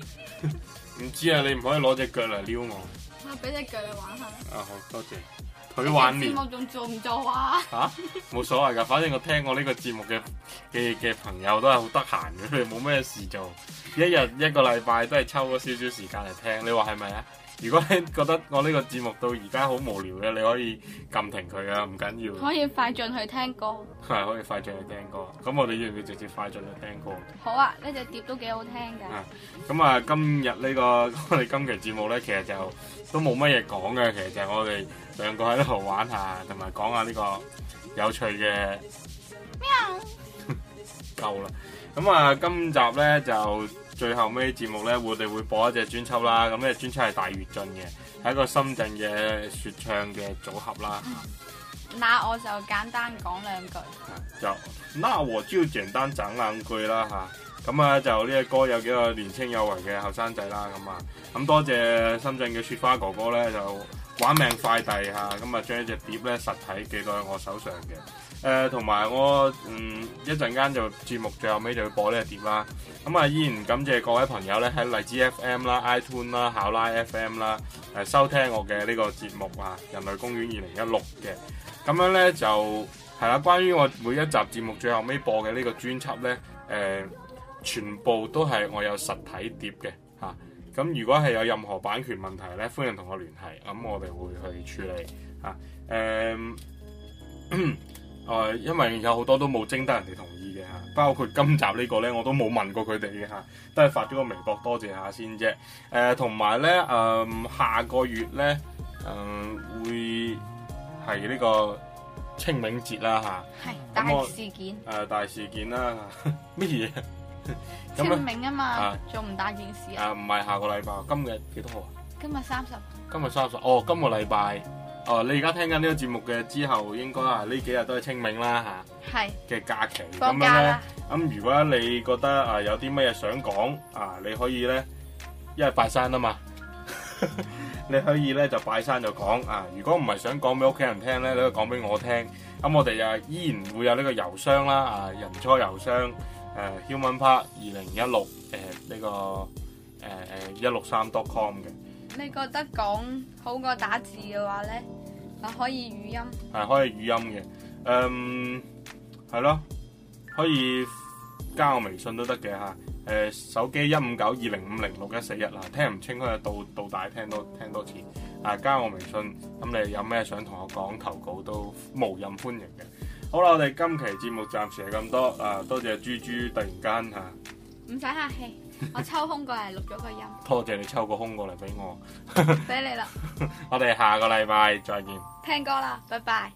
[SPEAKER 2] 唔
[SPEAKER 1] 知啊，你唔可以攞隻腳嚟撩我。
[SPEAKER 2] 我俾隻腳你玩下。
[SPEAKER 1] 好多謝。 腿玩年。
[SPEAKER 2] 節目仲做唔做啊？
[SPEAKER 1] 冇所謂㗎，反正我聽過呢個節目嘅朋友都係好得閒嘅，佢哋冇咩事做，一個禮拜都係抽咗少少時間嚟聽，你話係咪啊？如果你覺得我呢個節目到而家好無聊嘅，你可以撳停佢啊，唔緊要。
[SPEAKER 2] 可以快進去聽歌。
[SPEAKER 1] 係可以快進去聽歌。咁我哋要唔要直接快進去聽歌？
[SPEAKER 2] 好啊，呢隻碟都幾好聽㗎。
[SPEAKER 1] 咁啊，今日我哋今期節目咧，其實就都冇乜嘢講嘅，其實就係我哋兩個喺度玩下，同埋講下呢個有趣嘅。喵。夠啦。咁啊，今集咧就最後尾節目咧，我哋會播一隻專輯啦。咁呢隻專輯係大躍進嘅，係一個深圳嘅説唱嘅組合啦。
[SPEAKER 2] 那我就簡單講兩句。
[SPEAKER 1] 那我就簡單講兩句啦嚇。咁啊，就呢個歌有幾個年青有為嘅後生仔啦。咁多謝深圳嘅雪花哥哥咧，就玩命快遞嚇，咁啊將呢隻碟咧實體寄到喺我手上嘅。同埋我一陣間就節目最後尾就要播呢個碟啦。咁啊依然感謝各位朋友咧喺荔枝 FM 啦、iTunes 啦、考拉 FM 啦收聽我嘅呢個節目啊，人類公園2016嘅。咁樣咧就係啦，關於我每一集節目最後尾播嘅呢個專輯咧，全部都係我有實體碟嘅嚇。咁如果係有任何版權問題咧，歡迎同我聯繫，咁我哋會去處理嚇。因為有好多都冇徵得人哋同意嘅嚇，包括今集呢個咧，我都冇問過佢哋嘅嚇，都係發咗個微博多謝下先啫。同埋咧，下個月咧，會係呢個清明節啦嚇，
[SPEAKER 2] 係大事件。
[SPEAKER 1] 大事件啦，乜嘢？
[SPEAKER 2] 清明啊嘛，仲唔大件事啊？
[SPEAKER 1] 唔係下個禮拜，今日幾多號啊？
[SPEAKER 2] 今日30。
[SPEAKER 1] 今日30。哦，今個禮拜。你而家聽緊呢個節目嘅之後，應該係呢幾日都係清明啦嚇。係。嘅假期。
[SPEAKER 2] 放假啦。
[SPEAKER 1] 咁如果你覺得有啲乜嘢想講你可以咧，因為拜山啊嘛，你可以咧就拜山就講如果唔係想講俾屋企人聽咧，你可以講俾我聽。咁我哋又依然會有呢個郵箱啦，人初郵箱humanpark2016呢個163.com 嘅。
[SPEAKER 2] 你覺得講好過打字嘅話咧，可以語音。
[SPEAKER 1] 係可以語音嘅，係咯，可以加我微信都得嘅嚇。手機15920506141啦，聽唔清可以倒帶聽多次。加我微信，咁你有咩想同我講投稿都無任歡迎嘅。好啦，我哋今期節目暫時係咁多，多謝豬豬突然間
[SPEAKER 2] 唔使客氣，我抽空過嚟錄咗個音。
[SPEAKER 1] 多謝你抽個空過嚟俾我，
[SPEAKER 2] 俾你啦。
[SPEAKER 1] 我哋下個禮拜再見。
[SPEAKER 2] 聽歌啦，拜拜。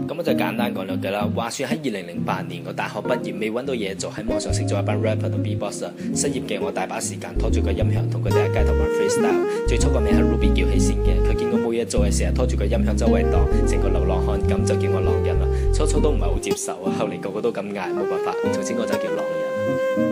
[SPEAKER 3] 咁我就簡單講兩句啦。話說喺2008年，我大學畢業未揾到嘢做，喺網上識咗一班 rapper 同 B-boxer。失業嘅我大把時間拖住個音響，同佢哋喺街頭玩 freestyle。最初個名係 Ruby 叫起先嘅，佢見我冇嘢做，係成日拖住個音響周圍蕩，成個流浪漢咁就叫我狼人啦。初初都唔係好接受啊，後嚟個個都咁嗌，冇辦法，從此我就叫狼人。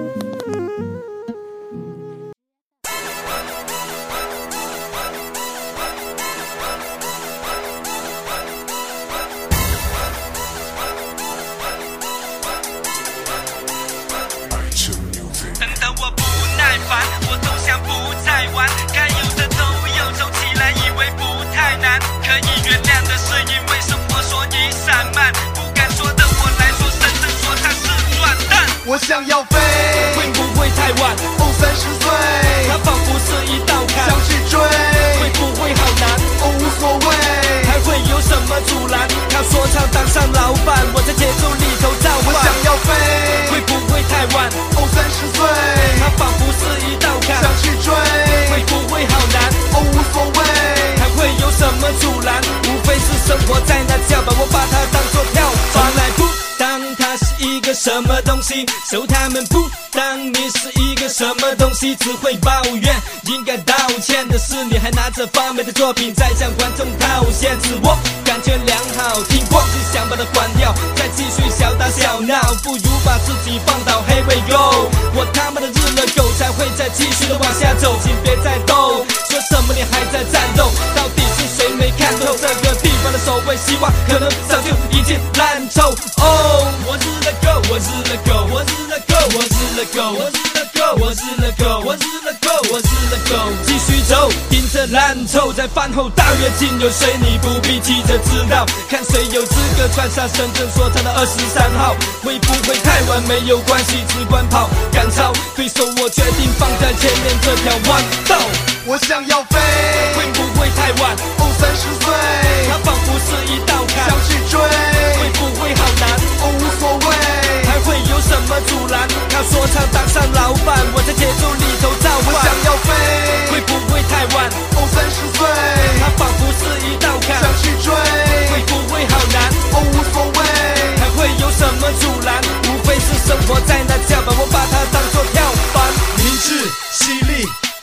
[SPEAKER 4] 我想要飛，會不會太晚？哦，30歲，它仿佛是一道坎，想去追，會不會好難？哦，無所謂，還會有什麼阻攔？靠說唱當上老闆，我在節奏裡頭造反。我想要飛，會不會太晚？哦，30歲，它仿佛是一道坎，想去追，會不會好難？哦，無所謂，還會有什麼阻攔？無非是生活在那跳板，我把它當作跳板來鋪。當它是一個什麼東西，受他們不當你是一個什麼東西，只會抱怨。應該道歉的是你，還拿着發霉的作品在向觀眾套現，自我感覺良好，聽過只想把它關掉，再繼續小打小鬧，不如把自己放倒。Here we go， 我他媽的日了狗才會再繼續的往下走，請別再鬥，說什麼你還在戰鬥，到底是誰沒看透這個地方的所謂希望，可能早就已經爛透。我日了狗，我日了狗，我日了狗，我日了狗，我日了狗，我日了狗，我日了狗，我日了狗，繼續走，盯着爛臭，在飯後大躍進，有誰你不必急着知道，看誰有資格穿上深圳說唱的23號，會不會太晚沒有關係，只管跑，趕超對手我決定放在前面這條彎道。我想要飛，會不會太晚？哦，30歲，它仿佛是一道坎，想去追，會不會好難？哦，無所謂，還會有什麼阻攔？靠說唱當上老闆，我在節奏裡頭造反。我想要飛，會不會太晚？哦，30歲，它仿佛是一道坎，想去追，會不會好難？哦，無所謂，還會有什麼阻攔？無非是生活在那跳板，我把它當作跳板。明智犀利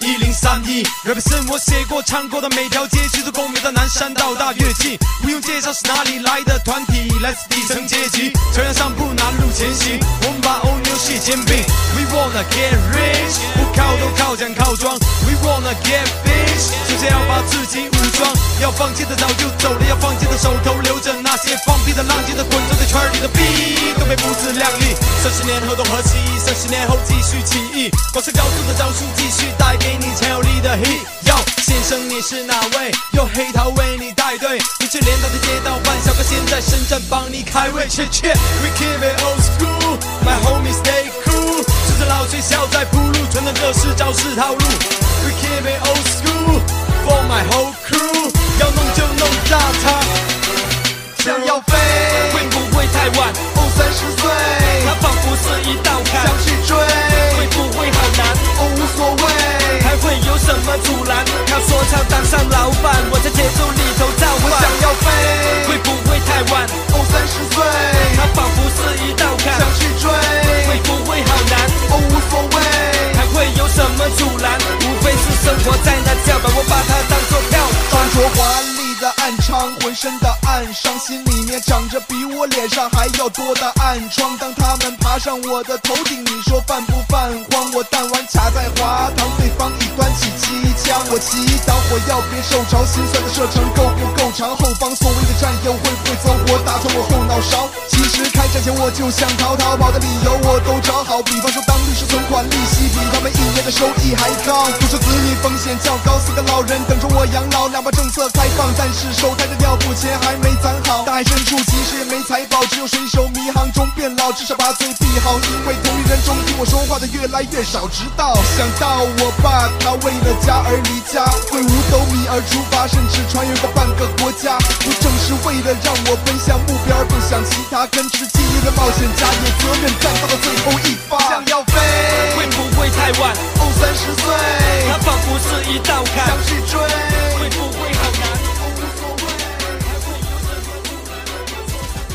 [SPEAKER 4] 1031 represent 我寫過唱過的每條街區，從公園到南山到大躍進，不用介紹是哪裡來的團體，來自底層階級，朝陽上鋪南路前行，我們把歐牛蟹煎餅 We wanna get rich， 不靠都靠獎靠裝 We wanna get bitch， 首先要把自己武裝，要放棄的早就走了，要放棄的手頭留着那些放屁的浪跡的滾走在圈裡的屁都被不自量力，30年後都和氣，30年後繼續起義，光是高速的招數繼續帶給你強有力的 hit。 喲，先生你是哪位？有黑桃為你帶隊，你去連到的街道辦，小哥現在深圳幫你開胃。切切 We keep it old school， My homies stay cool， 順着老水小在鋪路，傳的這是招式套路。We keep it old school for my whole crew， 要弄就弄炸它。想要飛，會不會太晚？哦，30歲，它仿佛是一道坎，想去追，會不會好難？哦，無所謂，還會有什麼阻攔？靠說唱當上老闆，我在節奏裡頭造反。我想要飛，會不會太晚？哦，30歲，它仿佛是一道坎，想去追，會不會好難？哦，無所謂，還會有什麼阻攔？無非是生活在那跳板，我把它當作跳板。穿着華麗的暗瘡，渾身的暗傷，心裡面長着比我臉上還要多的暗瘡。當他們爬上我的頭頂，你說犯不犯慌？我彈丸卡在滑堂，對方已端起機槍。我祈禱火藥別受着，心酸的射程夠不夠長？後方所謂的戰友會不會走火打穿我後腦勺？其實開戰前我就想逃，逃跑的理由我都找好，比方說當律師存款利息比他們1年的收益還高，獨生子女風險較高，4個老人等着我養老，2把政策開放，但是手抬着尿布錢還沒攢好，大海深處其實也沒財寶，只有水手迷航中變老，至少把嘴閉好，因為同齡人中聽我說話的越來越少，直到想到我爸他為了家而離家，為5斗米而出發，甚至穿越過半個國家，不正是為了讓我奔向目標而不想其他，跟吃記憶的冒險家，有責任戰到了最後一發。想要飛，會不會太晚？哦，30歲，它仿佛是一道坎，想去追，會不會好難？哦，無所謂，還會有什麼阻攔？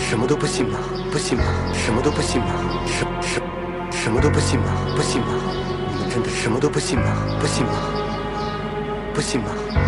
[SPEAKER 5] 什么都不信吗？不信吗？什么都不信吗？什么都不信吗？不信吗？你们真的什么都不信吗？不信吗？不信吗？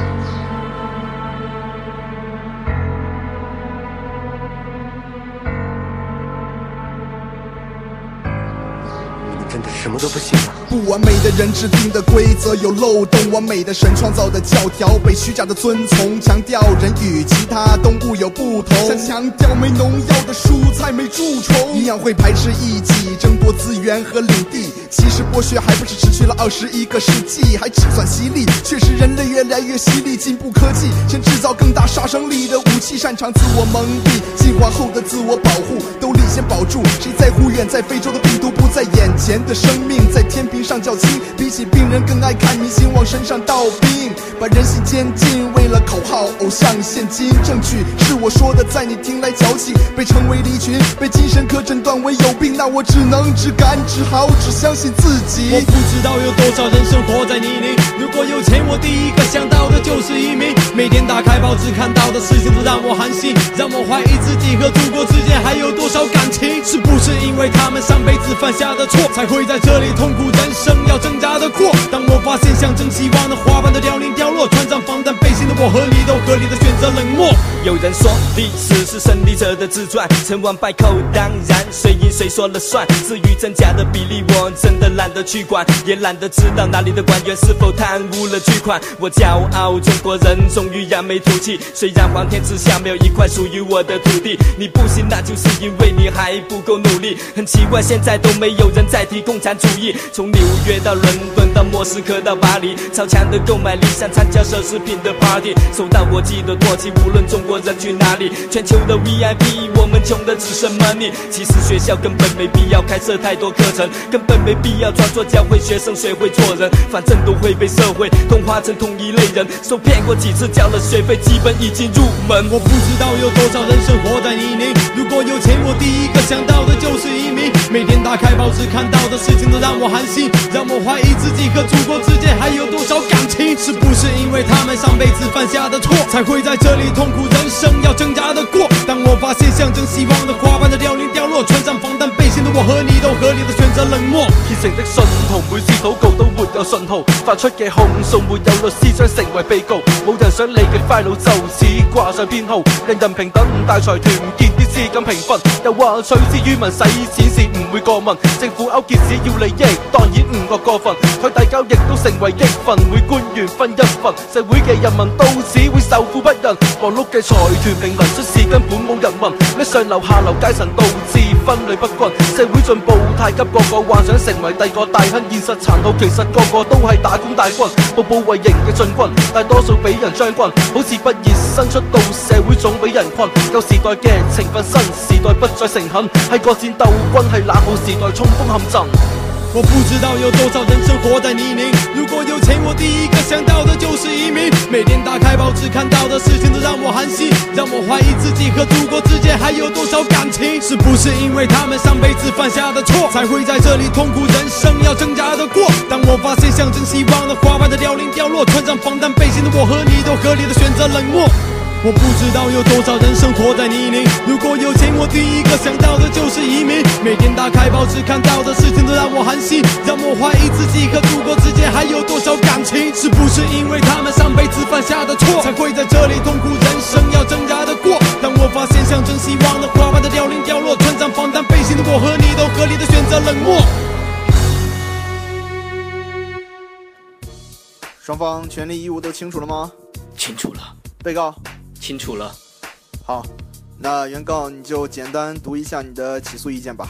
[SPEAKER 5] 真的什么都不信吗？
[SPEAKER 6] 不完美的人制定的规则有漏洞，完美的神创造的教条被虚假的遵从，强调人与其他动物有不同，像强调没农药的蔬菜没蛀虫，一样会排斥异己，争夺资源和领地。其实剥削还不是持续了21个世纪，还只算犀利。确实人类越来越犀利，进步科技先制造更大杀伤力的武器，擅长自我蒙蔽，进化后的自我保护都立先保住。谁在乎远在非洲的病毒不在眼前的生命，在天平上较轻，比起病人更爱看明星往身上倒冰，把人性监禁，为了口号偶像现金，证据是我说的，在你听来矫情，被称为离群，被精神科诊断为有病，那我只能只敢只好只相信自己。
[SPEAKER 4] 我不知道有多少人生活在泥泞，如果有钱我第一个想到的就是移民，每天打开报纸看到的事情都让我寒心，让我怀疑自己和祖国之间还有多少感情，是不是因为他们上辈子犯下的错，才会在这里痛苦人生要挣扎的过。当我发现象征希望的花瓣都凋零凋落，穿上防弹背心的我和你都合理的选择冷漠。
[SPEAKER 7] 有人说历史是胜利者的自传，成王败寇当然谁赢谁说了算，至于真假的比例我真的懒得去管，也懒得知道哪里的官员是否贪污了巨款。我骄傲中国人终于扬眉吐气，虽然黄天之下没有一块属于我的土地，你不信那就是因为你还不够努力。很奇怪现在都没有人在提共产主义，从纽约到伦敦到莫斯科到巴黎，超强的购买力像参加奢侈品的 party， 受到国际的唾弃，无论中国人去哪里，全球的 VIP 我们穷的只剩 money。 其实学校根本没必要开设太多课程，根本没必要装作教会学生学会做人，反正都会被社会同化成同一类人，受骗过几次交了学费基本已经入门。
[SPEAKER 4] 我不知道有多少人生活在泥泞，如果有钱我第一个想到的就是移民，每天打开报纸看到的事情都让我寒心，让我怀疑自己和祖国之间还有多少感情，是不是因为他们上辈子犯下的错，才会在这里痛苦人生要挣扎的过。当我发现象征希望的花瓣的凋零凋落，穿上防弹背心的我和你都合理的選擇冷漠。
[SPEAKER 8] 虔誠的信徒每次禱告都沒有信號，發出嘅控訴沒有律師將成為被告，冇人想你嘅 file 就此掛上編號，人人平等大財團唔見啲資金平分，又話取之於民使錢是唔會過問，政府勾結只要利益當然唔覺過分，佢遞交亦都成為激憤，每官員分一份，社會嘅人民到此會受苦不仁，忙碌嘅財團平民出事根本冇人問，咩上流下流階層導致分類不均，社會進步太急，個個幻想成為第個大亨，現實殘酷，其實個個都係打工大軍，步步為營嘅進軍，大多數俾人將軍，好似畢業生出到社會總俾人困，舊時代嘅情分新時代不再誠懇，係國戰鬥軍，係冷酷時代衝鋒陷陣。
[SPEAKER 4] 我不知道有多少人生活在泥泞，如果有錢我第一個想到的就是移民，每天打開報紙看到的事情都讓我寒心，讓我懷疑自己和祖國之間還有多少感情，是不是因為他們上輩子犯下的錯，才會在這裡痛苦人生要掙扎的過。當我發現象徵希望的花瓣的凋零凋落，穿上防彈背心的我和你都合理的選擇冷漠。我不知道有多少人生活在泥泞，如果有錢我第一個想到的就是移民，每天打開報紙看到的事情都讓我寒心，讓我懷疑自己和祖國之間還有多少感情，是不是因為他們上輩子犯下的錯，才會在這裡痛苦人生要掙扎的過。當我發現象徵希望的花瓣的凋零凋落，穿上防彈背心的我和你都合理的選擇冷漠。
[SPEAKER 6] 雙方權利義務都清楚了嗎？
[SPEAKER 3] 清楚了。
[SPEAKER 6] 被告
[SPEAKER 3] 清楚了。
[SPEAKER 6] 好，那原告你就簡單讀一下你的起訴意見吧。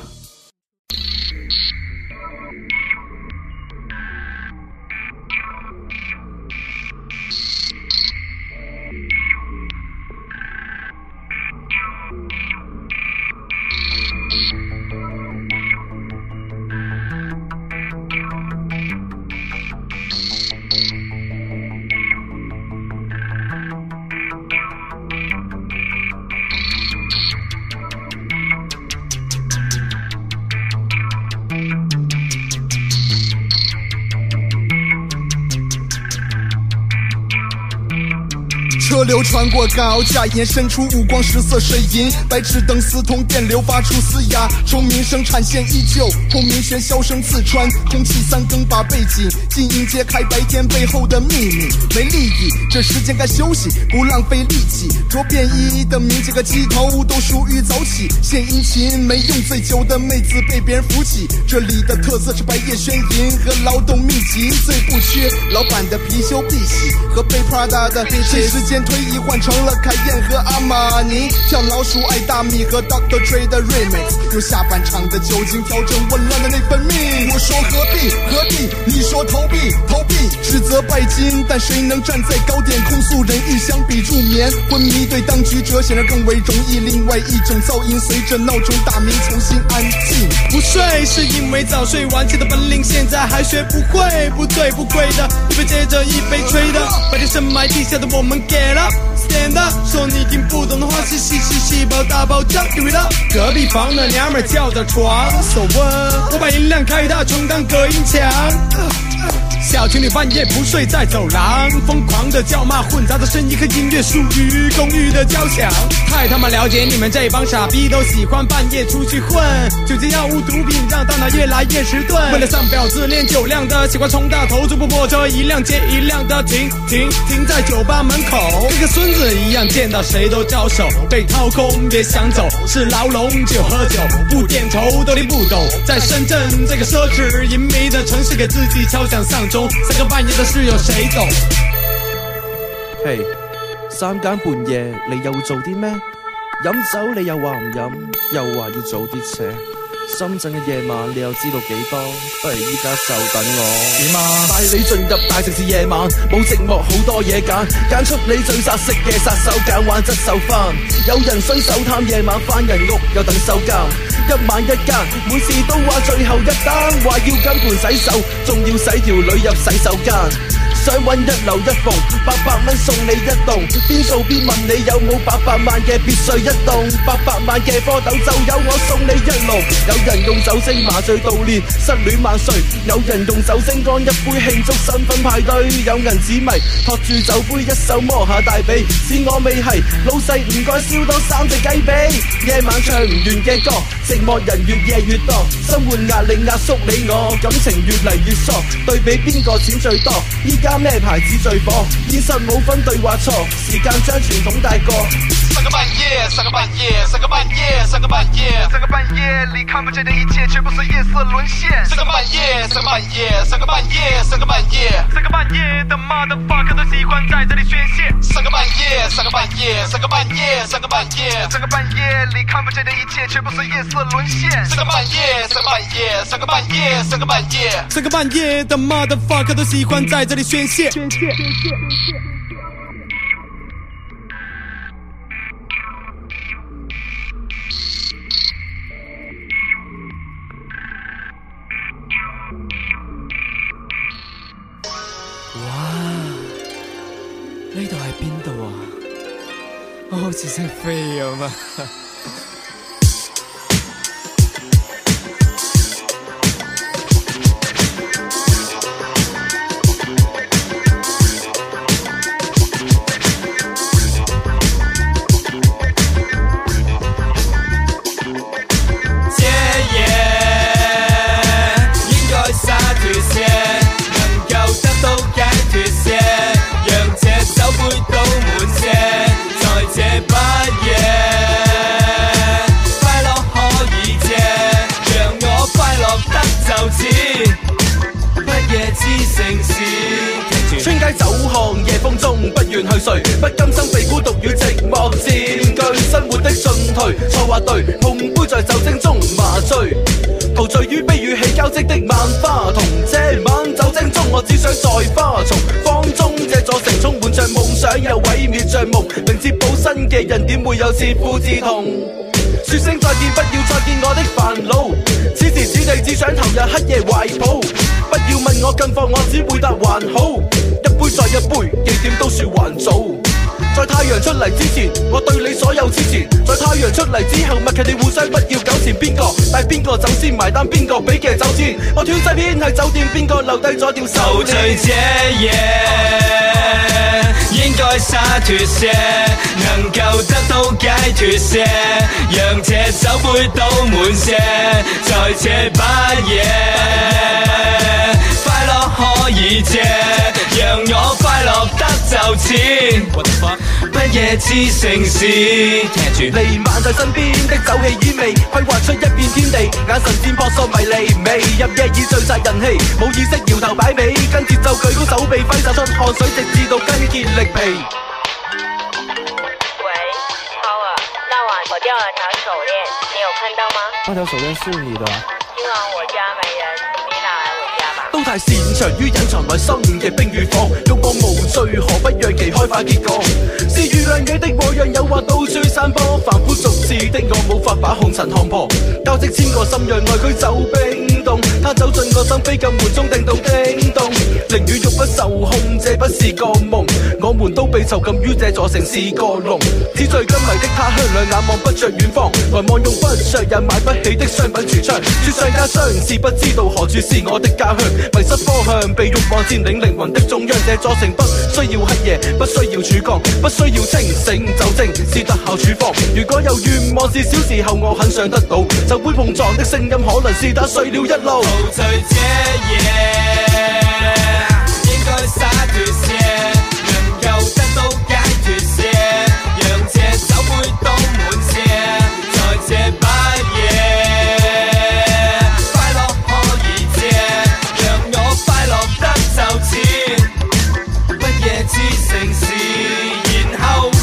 [SPEAKER 6] 车流穿过高架，延伸出五光十色水银，白炽灯四通电流发出嘶哑，虫鸣生产线依旧，轰鸣喧嚣声刺穿空气，三更把背景静音揭开白天背后的秘密。没利益，这时间该休息，不浪费力气。着便衣的民警和鸡头都属于早起，献殷勤没用，醉酒的妹子被别人扶起。这里的特色是白夜宣淫和劳动密集，最不缺老板的貔貅碧玺和被 Prada 的随时间推移换成了凯宴和阿玛尼，跳老鼠爱大米和 Dr. Dre 的 Remix， 用下半场的酒精调整紊乱的内分泌。我说何必何地，你说投币投币，指责拜金，但谁能站在高点控诉人欲相比助眠？昏迷对当局者显然更为容易，另外一种噪音随着闹钟大鸣重新安静。
[SPEAKER 4] 不睡是因为早睡晚起的本领现在还学不会，不对不贵的，一杯接着一杯吹的，白天深埋地下的我们 get up stand up， 说你听不懂的话是细胞大爆炸 give it up， 隔壁房的娘们叫着床 so what， 我把音量开大充当隔音墙，小情侣半夜不睡在走廊，疯狂的叫骂混杂的声音和音乐属于公寓的交响，太他妈了解你们这帮傻逼，都喜欢半夜出去混，酒精药物毒品让大脑越来越迟钝，为了上婊子练酒量的，喜欢冲大头，逐步破车一辆接一辆的停在酒吧门口，跟个孙子一样见到谁都招手，被掏空别想走，是牢笼就喝酒，不点头都听不懂，在深圳这个奢侈淫靡的城市给自己敲响丧钟，三更半夜的事有谁懂？
[SPEAKER 8] 嘿，三更半夜你又會做啲咩？飲酒你又話唔飲，又話要早啲扯。深圳嘅夜晚你又知道幾多？不如依家就等我點啊！帶你進入大城市夜晚，冇寂寞好多嘢揀，揀出你最殺食嘅殺手鐧，玩質手翻。有人衰手貪夜晚返人屋，又等收監。一晚一間，每次都話最後一單，話要跟盤洗手，仲要洗條女入洗手間。想揾一樓一鳳，800蚊送你一棟，邊做邊問你有冇800萬嘅別墅一棟，800萬嘅蝌蚪就有我送你一籠。有人用酒精麻醉悼念失戀萬歲，有人用酒精乾一杯慶祝新婚派對，有銀紙迷托住酒杯一手摸下大髀，是我未係老細唔該燒多3隻雞髀。夜晚唱唔完嘅歌，寂寞人越夜越多，生活壓力壓縮你我，感情越嚟越疏，對比邊個錢最多？依家咩牌子最火？現實冇分對或錯，時間將傳統帶過。
[SPEAKER 4] 三更半夜，三更半夜，三更半夜，三更半夜，三更半夜里看不见的一切，却不是夜色沦陷。三更半夜，三更半夜，三更半夜，三更半夜，三更半夜的 motherfucker 都喜欢在这里宣泄。三更半夜，三更半夜，三更半夜，三更半夜，三更半夜里看不见的一切，却不是夜色沦陷。三更半夜，三更半夜，三更半夜，三更半夜，三更半夜的 motherfucker 都喜欢在这里宣泄。
[SPEAKER 7] 呢度係邊度啊？我好似識飛咁啊！
[SPEAKER 8] 村街走巷夜風中不願去睡，不甘心被孤獨與寂寞佔據，生活的進退錯或對，碰杯在酒精中麻醉，陶醉於悲與喜交織的萬花筒。這晚酒精中我只想在花叢方中，這座城充滿着夢想又毀滅着夢，明哲保身嘅人點會有切膚之痛？說聲再見，不要再見我的煩惱，此時此地只想投入黑夜懷抱，不要問我近況，我只會答還好，一杯再一杯，幾點都說還早。在太陽出嚟之前，我對你所有之前；在太陽出嚟之後，默契地互相不要糾纏，邊個帶邊個走先埋單，邊個俾嘅走先。我斷晒片喺酒店，邊個留低咗條手鏈？
[SPEAKER 7] 陶醉這夜，應該該灑脱些，能夠得到解脱些，讓這酒杯倒滿些，在這把夜，快樂可以借，讓我快樂得就似不夜之城市。聽住
[SPEAKER 8] 瀰漫在身邊的酒氣煙味，規劃出一片天地，眼神漸撲朔迷離，未入夜已聚晒人氣，冇意識搖頭擺尾，跟節奏舉高手臂，揮灑出汗水，直至到筋竭力疲。
[SPEAKER 9] 喂 ，Power， 那晚我掉了條手鏈，你有看到嗎？
[SPEAKER 10] 那條手鏈是你的。
[SPEAKER 9] 今晚我家沒人，你拿來我家吧。
[SPEAKER 8] 都太擅長於隱藏內心嘅冰與火，欲望無罪，何不讓其開花結果？是遇亮野的我，讓誘惑到處散播，凡夫俗子的我無法把紅塵看破，交織千個心，讓愛佢走冰凍，他走進我心扉，撳門鐘定到叮咚，靈與欲不受控，這不是個夢，我們都被囚禁於這座城市個籠，紙醉金迷的他鄉，兩眼望不着遠方，來望用不着也買不起的商品櫥窗，雪上加霜，是不知道何處是我的家鄉，迷失方向，被欲望佔領靈魂的中央，這座城不需要黑夜，不需要曙光，不需要清醒，酒精是特效處方。如果有願望是小時候我很想得到，就會碰撞的聲音可能是打碎了一路。
[SPEAKER 7] 陶醉這夜，應該灑脱些，能夠得到解脱些，讓這酒杯倒滿些，在這把夜，快樂可以借，讓我快樂得就似不夜之城市，然後。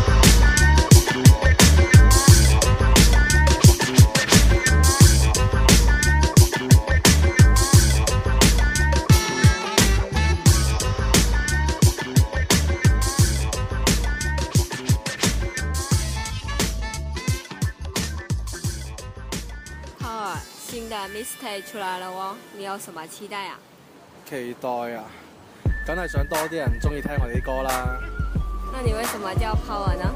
[SPEAKER 9] 新的 mixtape 出來了哦，你有什麼期待啊？
[SPEAKER 10] 期待啊，梗係想多啲人中意聽我哋啲歌啦。
[SPEAKER 9] 那你為什麼叫 Power 呢？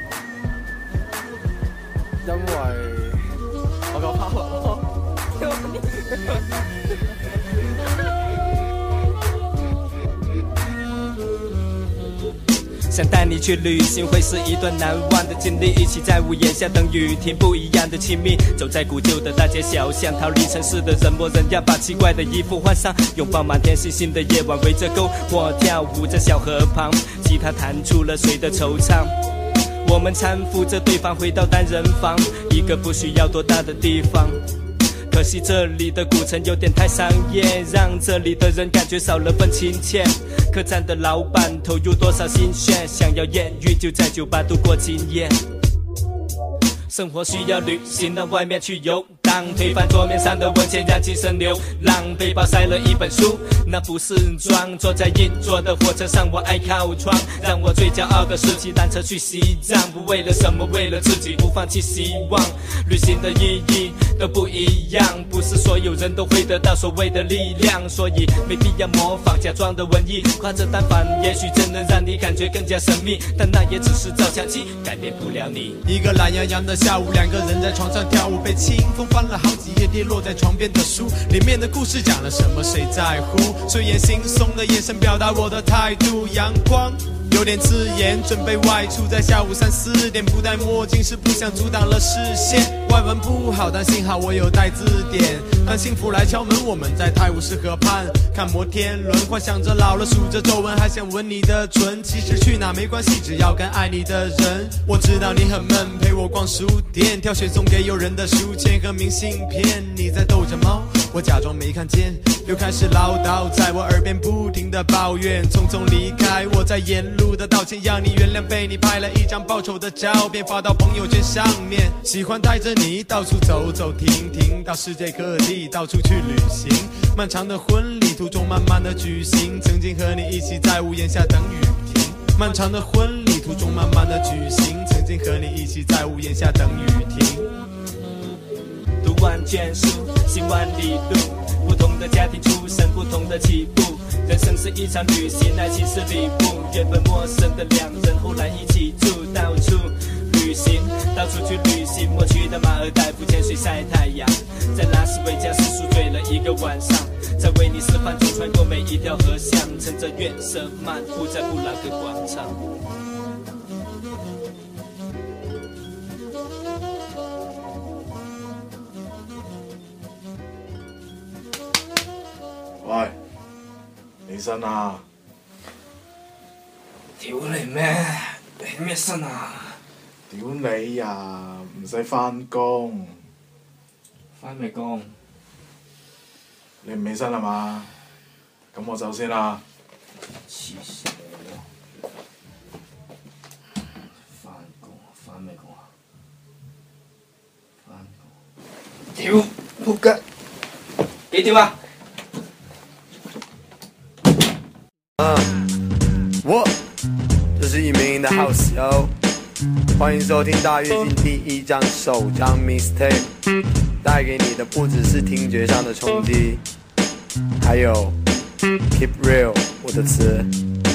[SPEAKER 10] 因為我夠 Power
[SPEAKER 7] 想帶你去旅行，會是一段難忘的經歷。一起在屋檐下等雨停，不一樣的親密。走在古舊的大街小巷，逃離城市的人模人樣，把奇怪的衣服換上，擁抱滿天星星的夜晚，圍着篝火跳舞在小河旁，吉他彈出了誰的惆悵。我們攙扶着對方回到單人房，一個不需要多大的地方。可惜這裡的古城有點太商業，讓這裡的人感覺少了份親切。客棧的老闆投入多少心血，想要豔遇就在酒吧度過今夜。生活需要旅行，到外面去遊蕩，推翻桌面上的文件，讓精神流浪。背包塞了一本書，那不是裝。坐在硬座的火車上，我愛靠窗。讓我最驕傲的是騎單車去西藏，不為了什麼，為了自己，不放棄希望。旅行的意義都不一樣，不是所有人都會得到所謂的力量，所以沒必要模仿假裝的文藝，誇着單反，也許真能讓你感覺更加神秘，但那也只是照相機，改變不了你。
[SPEAKER 11] 一個懶洋洋的下午，兩個人在床上跳舞，被清風翻了好幾頁跌落在床邊的書，裡面的故事講了什麼誰在乎，睡眼惺忪的眼神表達我的態度，陽光有點刺眼，準備外出，在下午3、4點，不戴墨鏡是不想阻擋了視線，外文不好，但幸好我有帶字典，當幸福來敲門，我們在泰晤士河畔看摩天輪，幻想着老了數着皺紋，還想吻你的唇，其實去哪沒關係，只要跟愛你的人。我知道你很悶，陪我逛書店，挑選送給友人的書籤和明信片，你在逗着貓，我假裝沒看見，又開始嘮叨，在我耳邊不停地抱怨，匆匆離開，我在沿路的道歉，讓你原諒，被你拍了一張報仇的照片發到朋友圈上面，喜歡帶着你到處走走停停，到世界各地到處去旅行，漫長的婚禮途中慢慢的舉行，曾經和你一起在屋檐下等雨停，漫長的婚禮途中慢慢的舉行，曾經和你一起在屋檐下等雨停。
[SPEAKER 7] 讀萬卷書，行萬里路，不同的家庭出身，不同的起步，人生是一場旅行，愛情是禮物，原本陌生的兩人後來一起住，到處旅行，到處去旅行，我去到馬爾代夫潛水曬太陽，在拉斯維加斯宿醉了一個晚上， 再为你示范，穿过每一条河巷，乘着月色漫步在布拉格广场。
[SPEAKER 12] 喂，起身啊！
[SPEAKER 13] 屌你咩？起咩身啊？
[SPEAKER 12] 屌你呀！唔使返工。
[SPEAKER 13] 返咩工？
[SPEAKER 12] 你唔起身啦嘛？咁我走先啦。
[SPEAKER 13] 黐線嘅！返工啊？返咩工啊？返工！屌！仆街！幾點啊？
[SPEAKER 14] 我就是一名的 house 友，欢迎收听大跃进第1张首张 mixtape， 带给你的不只是听觉上的冲击，还有 keep real 我的词。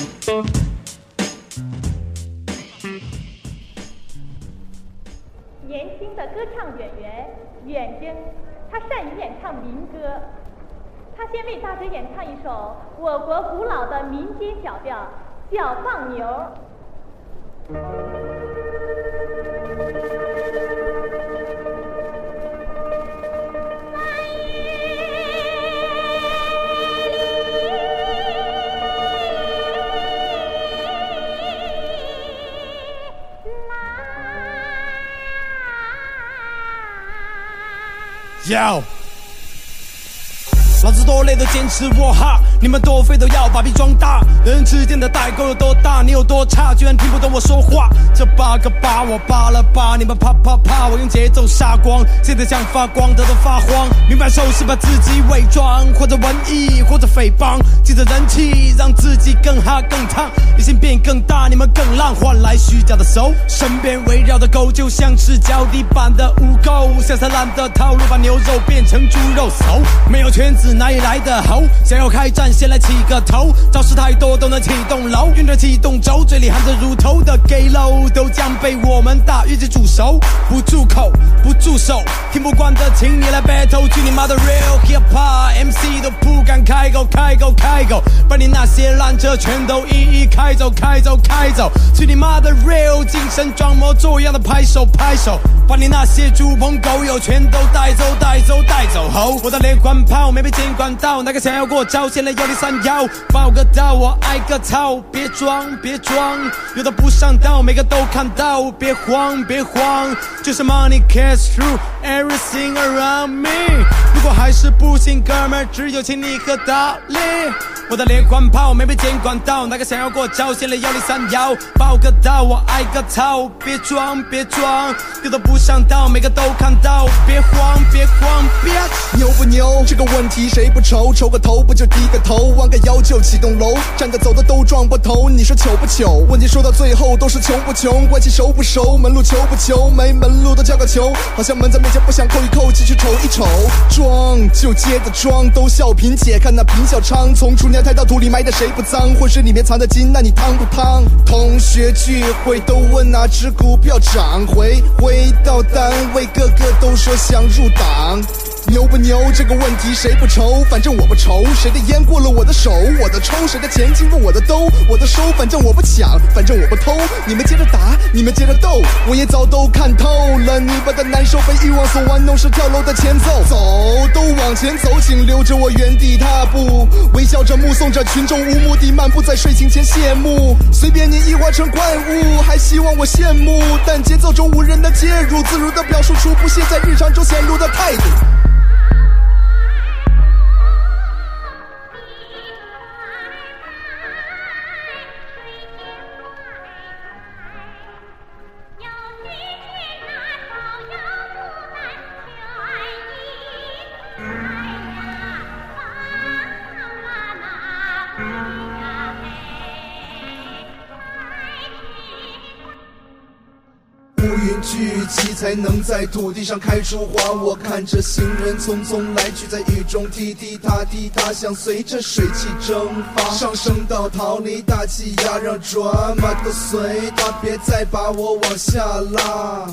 [SPEAKER 15] 年轻的歌唱演员远征，他善于演唱民歌。他先为大家演唱一首我国古老的民间小调《小放牛》。
[SPEAKER 11] 要。老子多累都坚持我哈，你们多废都要把屁装大。人之间的代沟有多大，你有多差，居然听不懂我说话。这8个8我扒了扒，你们啪啪啪，我用节奏杀光。现在想发光的都发慌，明白手是把自己伪装，或者文艺，或者诽谤，借着人气让自己更哈更烫，野心变更大，你们更浪，换来虚假的手。身边围绕的狗就像是脚底板的污垢，下三滥的套路把牛肉变成猪肉熟，没有圈子哪里来的猴？想要开战先来起个头，招式太多都能启动楼，运着启动轴，嘴里含着乳头的 gay low 都将被我们大跃进煮熟。不住口不住手，听不惯的请你来 battle， 去你妈的 real hip hop MC 都不敢开口开口开口，把你那些烂车全都一一开走开走开走，去你妈的 real 精神装模作样的拍手拍手，把你那些猪朋狗友全都带走带走带走吼！我的连环炮没被监管到，那个想要过招，先来103报个到，我挨个操，别装别装，有的不上道，每个都看到，别慌别慌，就是 money cash through everything around me。如果还是不信，哥们儿只有请你和大力。我的连环炮没被监管到，那个想要过招，先来103报个到，我挨个操，别装别装，有的不上道，每个都看到，别慌别慌别。
[SPEAKER 6] 牛不牛这个问题谁不愁？愁个头不就低个头，弯个腰就启动楼，站的走的都撞不头，你说糗不糗？问题说到最后都是穷不穷，关系熟不熟，门路求不求，没门路都叫个球，好像门在面前不想扣一扣，继续瞅一瞅，装就接着装，都笑贫姐看那贫小娼，从厨娘胎到土里埋的谁不脏，浑水里面藏的金，那你烫不烫？同学聚会都问哪只股票涨，回到单位个个都说想入党。牛不牛这个问题谁不愁？反正我不愁，谁的烟过了我的手，我的抽，谁的钱进入我的兜，我的收，反正我不抢，反正我不偷，你们接着打，你们接着斗，我也早都看透了，你们的难受被欲望所玩弄，是跳楼的前奏，走都往前走，请留着我原地踏步，微笑着目送着群众无目的漫步在睡醒前谢幕，随便你异化成怪物，还希望我羡慕，但节奏中无人的介入，自如地表述出不屑在日常中显露的态度。乌云聚集才能在土地上开出花，我看着行人匆匆来去，在雨中踢踢踏踢踏，想随着水汽蒸发，上升到逃离大气压，让drama都随它，别再把我往下拉。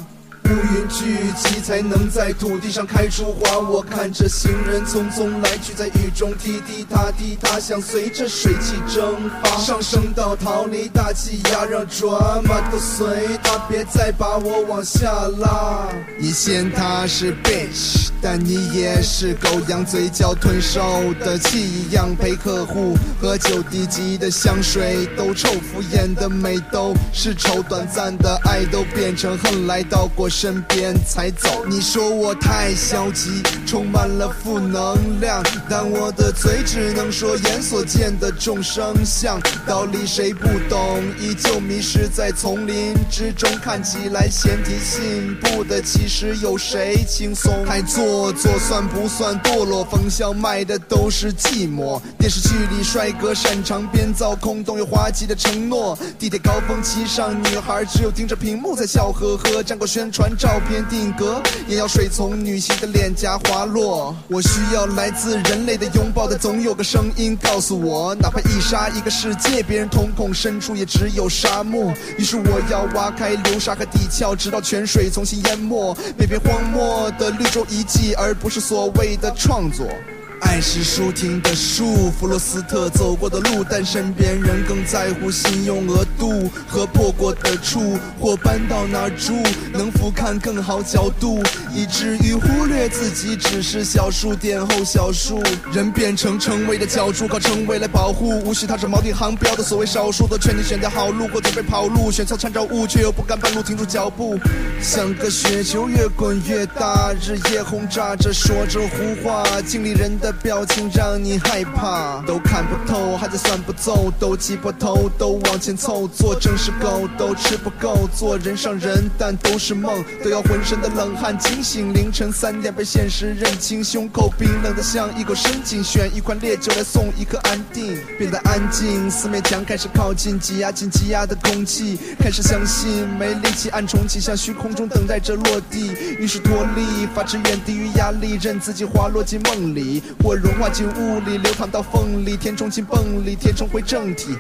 [SPEAKER 6] 乌云聚集才能在土地上开出花。我看着行人匆匆来去，在雨中滴滴答滴答响，随着水汽蒸发，上升到逃离大气压，让drama都随他，别再把我往下拉。你嫌他是 bitch， 但你也是狗羊，嘴角吞售的气一样，陪客户喝酒低级的香水都臭，敷衍的美都是丑，短暂的爱都变成恨，来到过身边才走。你说我太消极，充满了负能量，但我的嘴只能说眼所见的众生相，道理谁不懂，依旧迷失在丛林之中，看起来先提信步的，其实有谁轻松？太做作算不算堕落？冯小卖的都是寂寞。电视剧里帅哥擅长编造空洞又滑稽的承诺，地铁高峰期上女孩只有盯着屏幕在笑呵呵，沾过宣传照片定格，眼药水从女性的脸颊滑落。我需要来自人类的拥抱，但总有个声音告诉我，哪怕一沙一个世界，别人瞳孔深处也只有沙漠。于是我要挖开流沙和地壳，直到泉水重新淹没每片荒漠的绿洲遗迹，而不是所谓的创作。爱是舒婷的树，弗罗斯特走过的路，但身边人更在乎信用额度和破过的处，或搬到哪儿住，能俯瞰更好角度，以至于忽略自己只是小数点后小数。人变成称谓的角柱，靠称谓来保护，无需踏着锚定航标的所谓少数，都劝你选条好路，或准备跑路，选错参照物，却又不敢半路停住脚步，像个雪球越滚越大，日夜轰炸着说着胡话，经理人的表情让你害怕，都看不透，还在算不奏，都挤破头，都往前凑，做正是狗，都吃不够，做人上人，但都是梦，都要浑身的冷汗惊醒，凌晨3点被现实认清，胸口冰冷的像一口深井，选一款烈酒来送一颗安定，变得安静，四面墙开始靠近，挤压进挤压的空气，开始相信没力气暗重启，向虚空中等待着落地，于是脱力，发至远低于压力，任自己滑落进梦里，或融化进雾里，流淌到缝里，填充进泵里，填充回正题。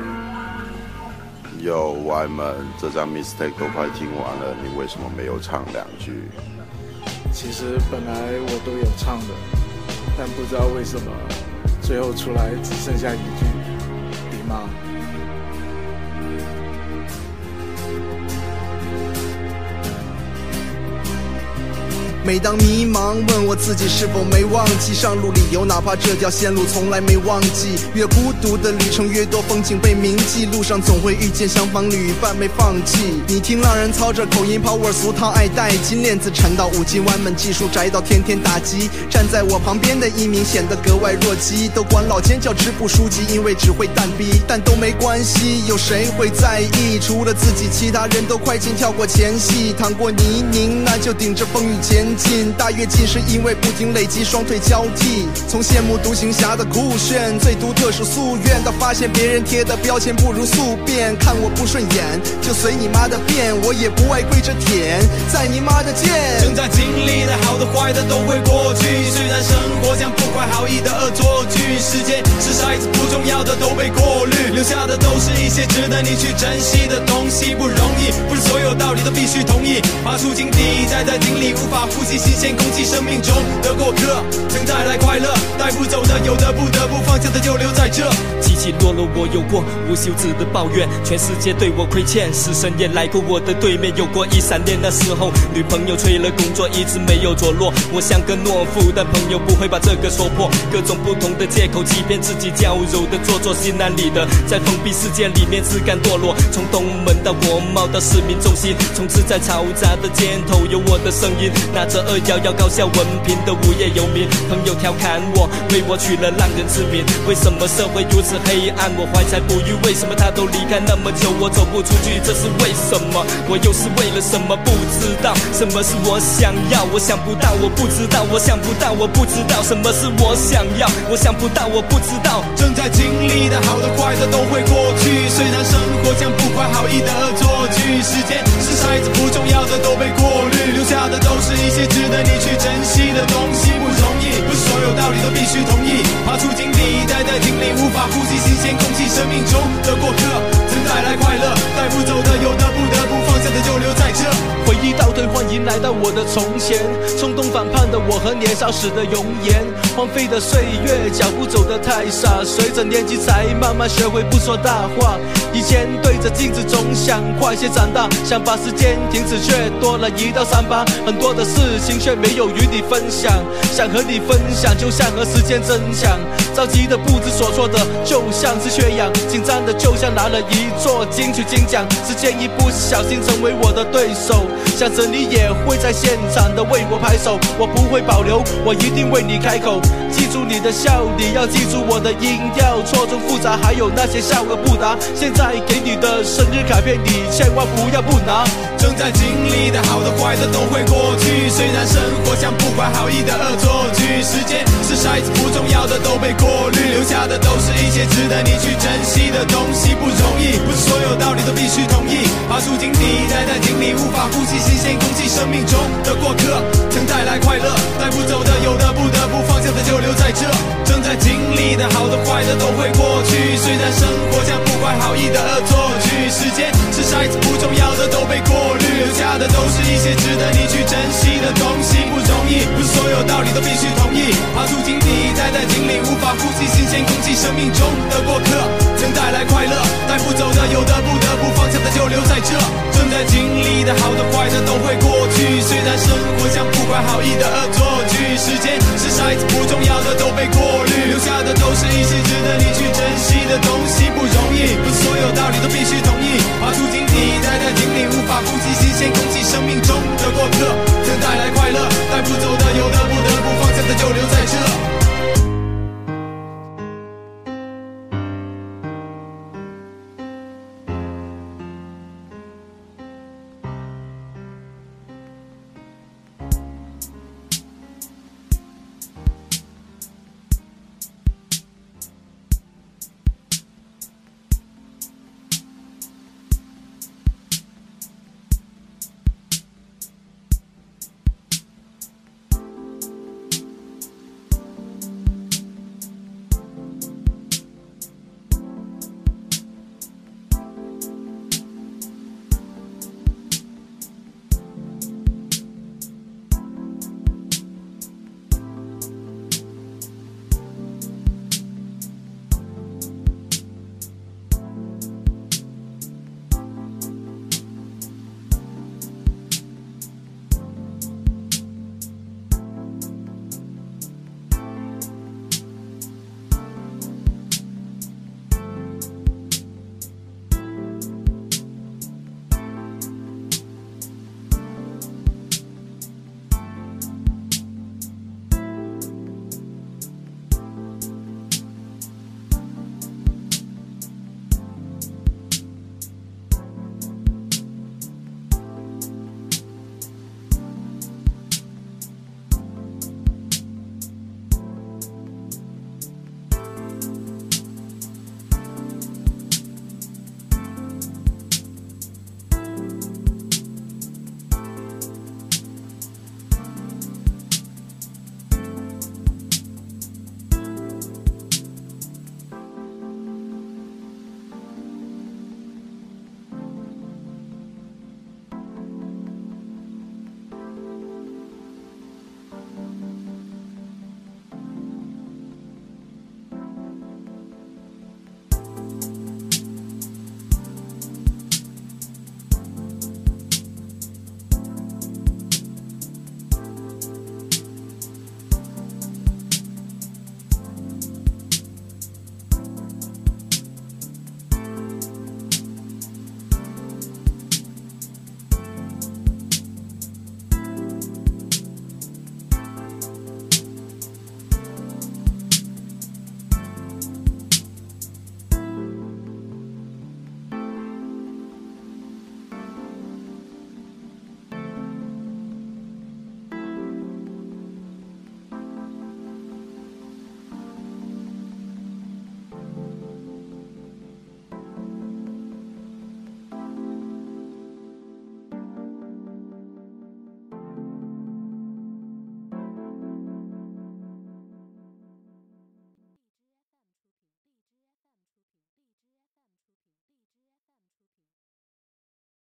[SPEAKER 16] 有歪们，这张 mistake 都快听完了，你为什么没有唱2句？
[SPEAKER 10] 其实本来我都有唱的，但不知道为什么最后出来只剩下1句迪妈。每当迷茫，问我自己是否没忘记上路理由，哪怕这条线路从来没忘记。越孤独的旅程，越多风景被铭记，路上总会遇见相仿旅伴没放弃。你听浪人操着口音 power 俗套爱戴金链子缠到5斤弯们技术宅到天天打击。站在我旁边的一名显得格外弱鸡，都管老奸叫支部书记，因为只会蛋逼，但都没关系，有谁会在意？除了自己，其他人都快进跳过前戏，淌过泥泞，那就顶着风雨前进。大跃进是因为不停累积，双腿交替，从羡慕独行侠的酷炫，最独特是夙愿，到发现别人贴的标签不如速变，看我不顺眼就随你妈的便，我也不爱跪着舔，在你妈的剑。正在经历的好的坏的都会过去，虽然生活像不怀好意的恶作剧，时间是骰子，不重要的都被过滤，留下的都是一些值得你去珍惜的东西，不容易，不是所有道理都必须同意，爬出井底，在井里无法呼吸新鲜空气，生命中的过客曾带来快乐，带不走的有的不得不放下的就留在这。
[SPEAKER 7] 起起落落我有过无休止的抱怨，全世界对我亏欠，死神也来过我的对面，有过一闪念，那时候女朋友催了工作一直没有着落，我像个懦夫，但朋友不会把这个说破，各种不同的借口欺骗自己，娇柔的做作，心安理得在封闭世界里面自甘堕落，从东门到国贸到市民中心，从此在嘈杂的街头有我的声音，拿着211高校文凭的无业游民，朋友调侃我，为我取了浪人之名，为什么社会如此黑暗，我怀才不遇，为什么他都离开那么久，我走不出去，这是为什么，我又是为了什么，不知道什么是我想要，我想不到，我不知道，我想不到，我不知道什么是我想要，我想不到，我不知道。正在经历的好的坏的都会过去，虽然生活像不怀好意的恶作剧，时间是骰子，不重要的都被过滤，留下的都是一些值得你去珍惜的东西，不容易，不是所有道理都必须同意，爬出井底，待在井里无法呼吸新鲜空气，生命中的过客曾带来快乐，带不走的有的不得不放下的就留在这。
[SPEAKER 8] 回忆倒退换一的从前，冲动反叛的我和年少时的容颜，荒废的岁月，脚步走得太傻，随着年纪才慢慢学会不说大话。以前对着镜子总想快些长大，想把时间停止，却多了一道伤疤。很多的事情却没有与你分享，想和你分享就像和时间争抢，着急的不知所措的就像是缺氧，紧张的就像拿了一座金曲金奖。时间一不小心成为我的对手，想着你也会在现场的为我拍手，我不会保留，我一定为你开口。记住你的笑，你要记住我的音调，错综复杂，还有那些笑而不答。现在给你的生日卡片，你千万不要不拿。
[SPEAKER 11] 正在经历的好的坏的都会过去，虽然生活像不怀好意的恶作剧，时间是筛子，不重要的都被过滤，留下的都是一些值得你去珍惜的东西。不容易，不是所有道理都必须同意，爬出井底，待在井里无法呼吸新鲜空气，生命中的过客曾带来快乐，带不走的有的不得不放下的就留在这。正在经历的好的坏的都会过去，虽然生活像不怀好意的恶作剧，时间是筛子，不重要的都被过滤，留下的都是一些值得你去珍惜的东西。不容易，不是所有道理都必须同意，爬出井底，待在井里无法呼吸新鲜空气，生命中的过客曾带来快乐，带不走的有的不得不放下的就留在这。正在经历的好的坏的都会过去，虽然生活像不怀好意的恶作剧，时间是筛子，不重要的都被过滤，留下的都是一些值得你去珍惜的东西。不容易，不是所有道理都必须同意，爬出井